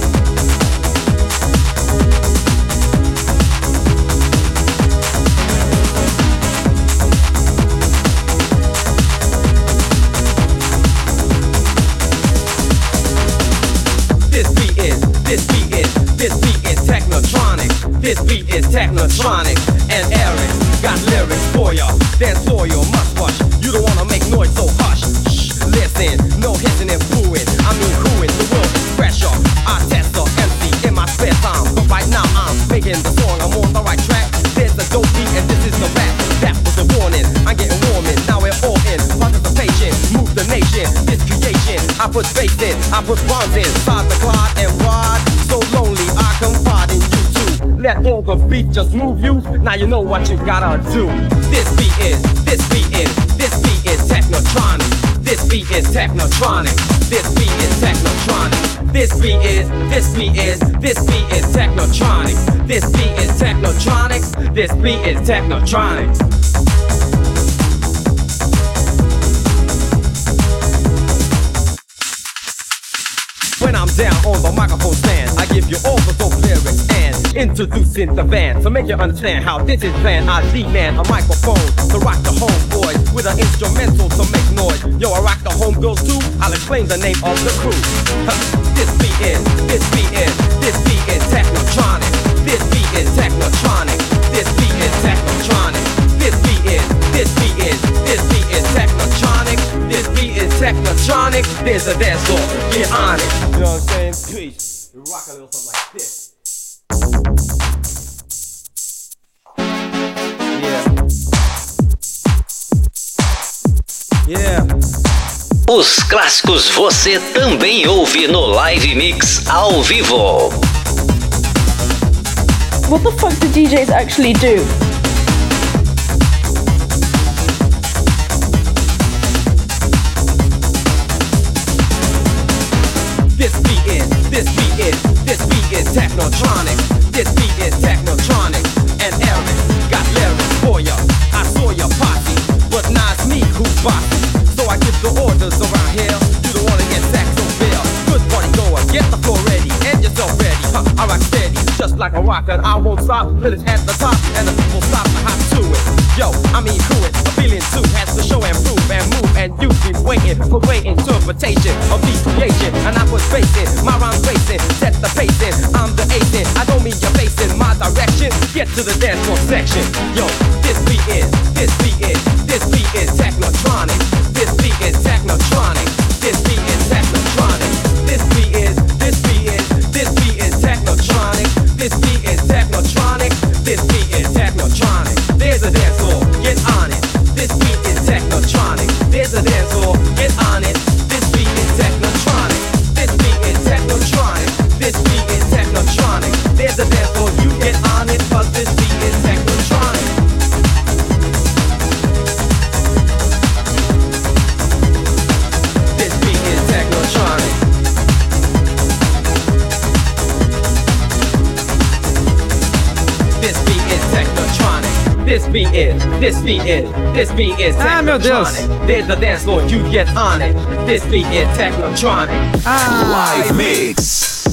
This beat is Technotronic, and Eric got lyrics for ya. Dance for you must rush. You don't wanna make noise, so hush. Shh, listen, no hissing and booing. I mean whoing, the world is pressure. I test the MC in my spare time, but right now I'm making the song. I'm on the right track. There's the dope beat, and this is the rap. That was the warning. I'm getting warm in. Now we're all in. Participation, move the nation. This creation, I put space in, I put bronze in. Side the clod and ride. So lonely, I confide in you. Let all the beat just move you. Now you know what you gotta do. This beat is Technotronic. This beat is Technotronic. This beat is Technotronic. This beat is Technotronic. This beat is Technotronic. This beat is Technotronic. When I'm down on the microphone stand, I give you all the dope lyrics and introducing the band to make you understand how this is planned. I demand a microphone to rock the homeboys with an instrumental to make noise. Yo, I rock the homegirls too. I'll explain the name of the crew. This beat is Technotronic. This beat is Technotronic. This beat is Technotronic. This beat is Technotronic. This beat is Technotronic. There's a dance floor, get on it. You know what I'm saying? Peace. You rock a little something like this. Yeah. Os clássicos você também ouve no Live Mix ao vivo. What the fuck do DJs actually do? This beat is Technotronic. This beat is Technotronic. And Eric got lyrics for ya. I saw ya posse, but now it's me who's bossy. So I give the orders around here. You don't wanna get sacked so bare. Good party goer, get the floor ready and yourself ready. I rock steady, just like a rocker, and I won't stop till it's at the top and the people stop to hop to it. Yo, I mean who it? A billion two has to show and prove and move, and you be waiting for great interpretation of these creation. And I put space in, my rhymes racing, set the pace in. I'm the ace in, I don't mean you're facing my direction. Get to the dance floor section. Yo, this beat is Technotronic. This beat is Technotronic. This beat is Technotronic. This beat is Technotronic. This beat is Technotronic. This beat is Technotronic. There's a dance floor, get on it. This beat is Technotronic. There's a dance floor, get on it. This beat is Technotronic. This beat is Technotronic. This beat is Technotronic. There's a dance floor, you get on it, 'cause this beat is Technotronic. This beat is Technotronic. This beat is Technotronic. This beat is Ah, meu Deus. Technotronic. There's a dance floor, you get on it. This beat is Technotronic. Live Mix.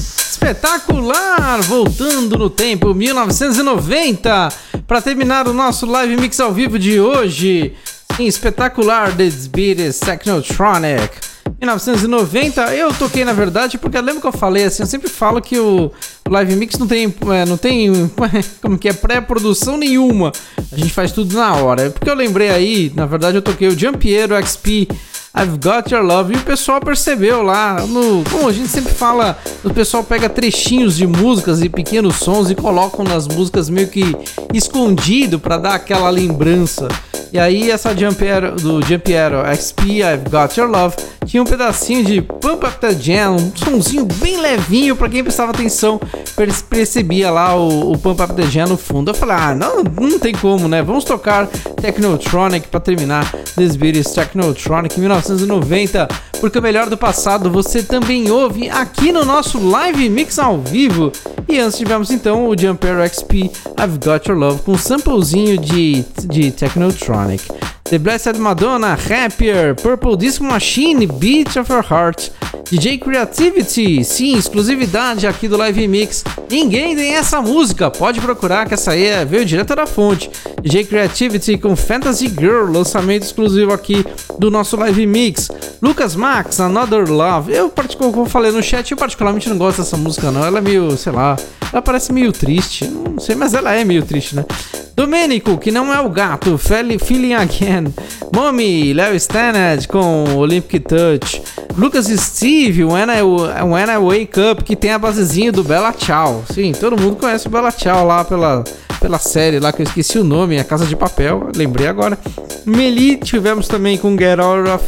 espetacular! Voltando no tempo, 1990, para terminar o nosso live mix ao vivo de hoje. Sim, espetacular, This Beat is Technotronic. 1990, eu toquei na verdade, porque eu lembro que eu falei assim, eu sempre falo que o Live Mix não tem como que é, pré-produção nenhuma, a gente faz tudo na hora, porque eu lembrei aí, na verdade eu toquei o Giampiero XP, I've Got Your Love, e o pessoal percebeu lá, como a gente sempre fala, o pessoal pega trechinhos de músicas e pequenos sons e colocam nas músicas meio que escondido pra dar aquela lembrança. E aí essa do Giampiero XP, I've Got Your Love, tinha um pedacinho de Pump Up The Jam, um sonzinho bem levinho, pra quem prestava atenção, percebia lá o Pump Up The Jam no fundo. Eu falei, não tem como, né? Vamos tocar Technotronic pra terminar This Beat is Technotronic 1990, porque o melhor do passado você também ouve aqui no nosso Live Mix ao vivo. E antes tivemos então o Giampiero XP, I've Got Your Love, com um samplezinho de Technotronic. The Blessed Madonna, Happier, Purple Disco Machine, Beat of Your Heart, DJ Creativity, sim, exclusividade aqui do Live Mix. Ninguém tem essa música, pode procurar que essa aí veio direto da fonte. DJ Creativity com Fantasy Girl, lançamento exclusivo aqui do nosso Live Mix. Lucas Max, Another Love. Como eu falei no chat, eu particularmente não gosto dessa música não, ela é meio, sei lá, ela parece meio triste, não sei, mas ela é meio triste, né? Domênico, que não é o gato, Feeling Again. Mommy, Léo Stannard com Olympic Touch. Lucas Steve, When I Wake Up, que tem a basezinha do Bella Ciao. Sim, todo mundo conhece o Bella Ciao lá pela série lá que eu esqueci o nome, A Casa de Papel, lembrei agora. Meli, tivemos também com Get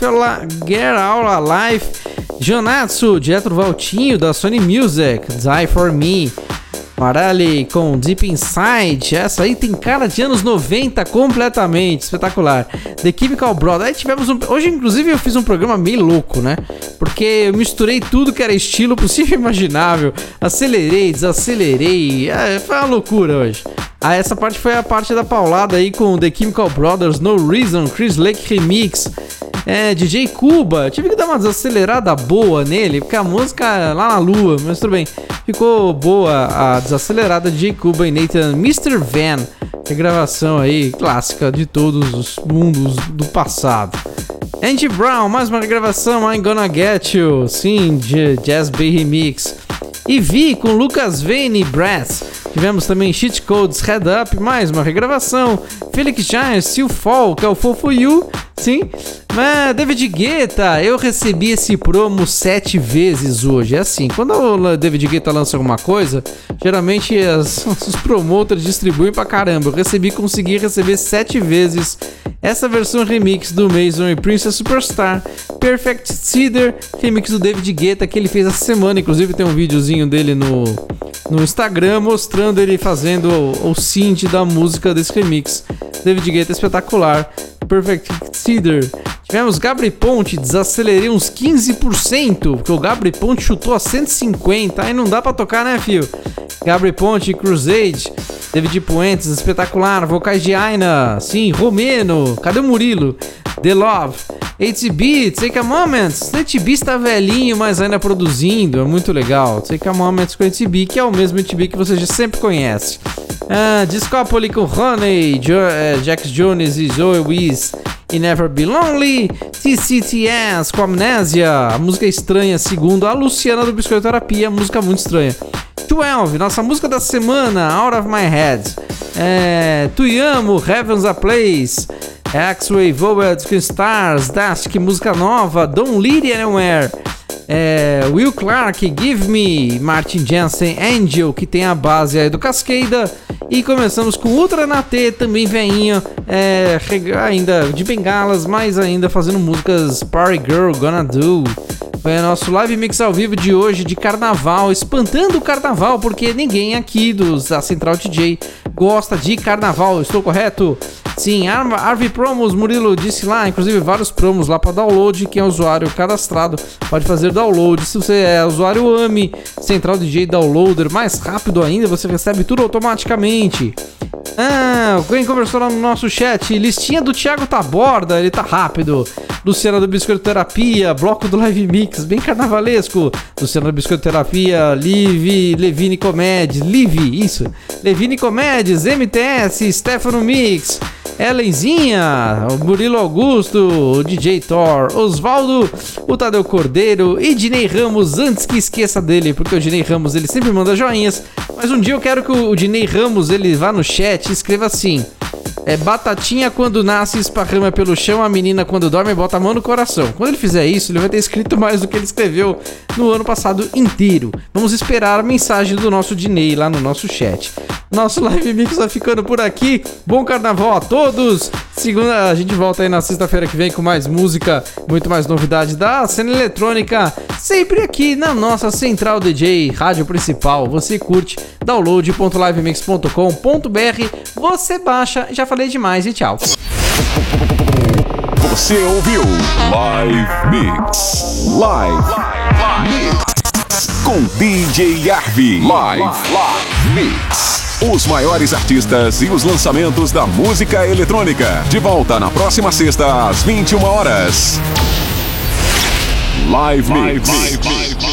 Out Alive. Jonatsu, direto do Valtinho da Sony Music, Die For Me. Marelli com Deep Inside, essa aí tem cara de anos 90 completamente, espetacular. The Chemical Brothers, aí tivemos hoje inclusive eu fiz um programa meio louco, né? Porque eu misturei tudo que era estilo possível e imaginável, acelerei, desacelerei, foi uma loucura hoje. Essa parte foi a parte da paulada aí com The Chemical Brothers, No Reason, Chris Lake Remix. DJ Cuba, tive que dar uma desacelerada boa nele, porque a música lá na lua, mas tudo bem, ficou boa a desacelerada de DJ Cuba e Nathan Mr. Van, regravação aí clássica de todos os mundos do passado. Andy Brown, mais uma regravação, I'm Gonna Get You, sim, Jazz Bay Remix. E Vi com Lucas Vane e Brass. Tivemos também Cheat Codes, Head Up, mais uma regravação. Felix Giant, Still Fall, que é o Fall For You, sim. Mas David Guetta, eu recebi esse promo 7 vezes hoje. É assim, quando o David Guetta lança alguma coisa, geralmente os promoters distribuem pra caramba. Eu consegui receber 7 vezes essa versão remix do Mason e Princess Superstar, Perfect Cedar, remix do David Guetta, que ele fez essa semana. Inclusive tem um videozinho dele no Instagram mostrando ele fazendo o synth da música desse remix. David Guetta espetacular, Perfect Cedar. Tivemos Gabri Ponte, desacelerei uns 15%, porque o Gabri Ponte chutou a 150, aí não dá pra tocar, né, fio? Gabri Ponte, Crusade, David Puentes, espetacular, vocais de Aina, sim, Romeno, cadê o Murilo? The Love, ATB, Take a Moment, ATB está velhinho, mas ainda produzindo, é muito legal. Take a Moment com ATB, que é o mesmo ATB que você já sempre conhece. Discopoli com Honey, Jax Jones e Zoe Wiz e Never Be Lonely. TCTS com Amnésia, a música estranha, segundo a Luciana do Biscoitoterapia, música muito estranha. 12, nossa música da semana, Out of My Head. Tuyamo, Heaven's a Place. X-Ray Void com Stars, Dust, que música nova. Don't Lead Anywhere. Will Clark, Give Me. Martin Jensen, Angel, que tem a base aí do Cascada. E começamos com Ultra Natê, também veinho, ainda de bengalas, mas ainda fazendo músicas Party Girl, Gonna Do. Foi o nosso Live Mix ao vivo de hoje, de carnaval, espantando o carnaval, porque ninguém aqui da Central DJ gosta de carnaval, estou correto? Sim, Arvi Promos, Murilo disse lá, inclusive vários promos lá para download, quem é usuário cadastrado pode fazer download. Se você é usuário AMI, Central DJ Downloader, mais rápido ainda, você recebe tudo automaticamente. Quem conversou lá no nosso chat? Listinha do Thiago Taborda, ele tá rápido. Luciana do Biscoiterapia, bloco do Live Mix, bem carnavalesco. Luciana do Biscoiterapia, Levine Comédias, Levine Comédias, MTS, Stefano Mix, Ellenzinha, o Murilo Augusto, o DJ Thor, Osvaldo, o Tadeu Cordeiro e Dinei Ramos, antes que esqueça dele, porque o Dinei Ramos ele sempre manda joinhas, mas um dia eu quero que o Dinei Ramos ele vá no chat e escreva assim: batatinha quando nasce esparrama pelo chão, a menina quando dorme bota a mão no coração. Quando ele fizer isso, ele vai ter escrito mais do que ele escreveu no ano passado inteiro. Vamos esperar a mensagem do nosso Dinei lá no nosso chat. Nosso Live Mix vai ficando por aqui. Bom carnaval a todos. Segunda, a gente volta aí na sexta-feira que vem com mais música, muito mais novidade da cena eletrônica, sempre aqui na nossa Central DJ, rádio principal. Você curte, download.livemix.com.br, você baixa. Já falei demais e tchau. Você ouviu Live Mix com DJ Arvi. Live Mix. Os maiores artistas e os lançamentos da música eletrônica. De volta na próxima sexta às 21 horas. Live Mix.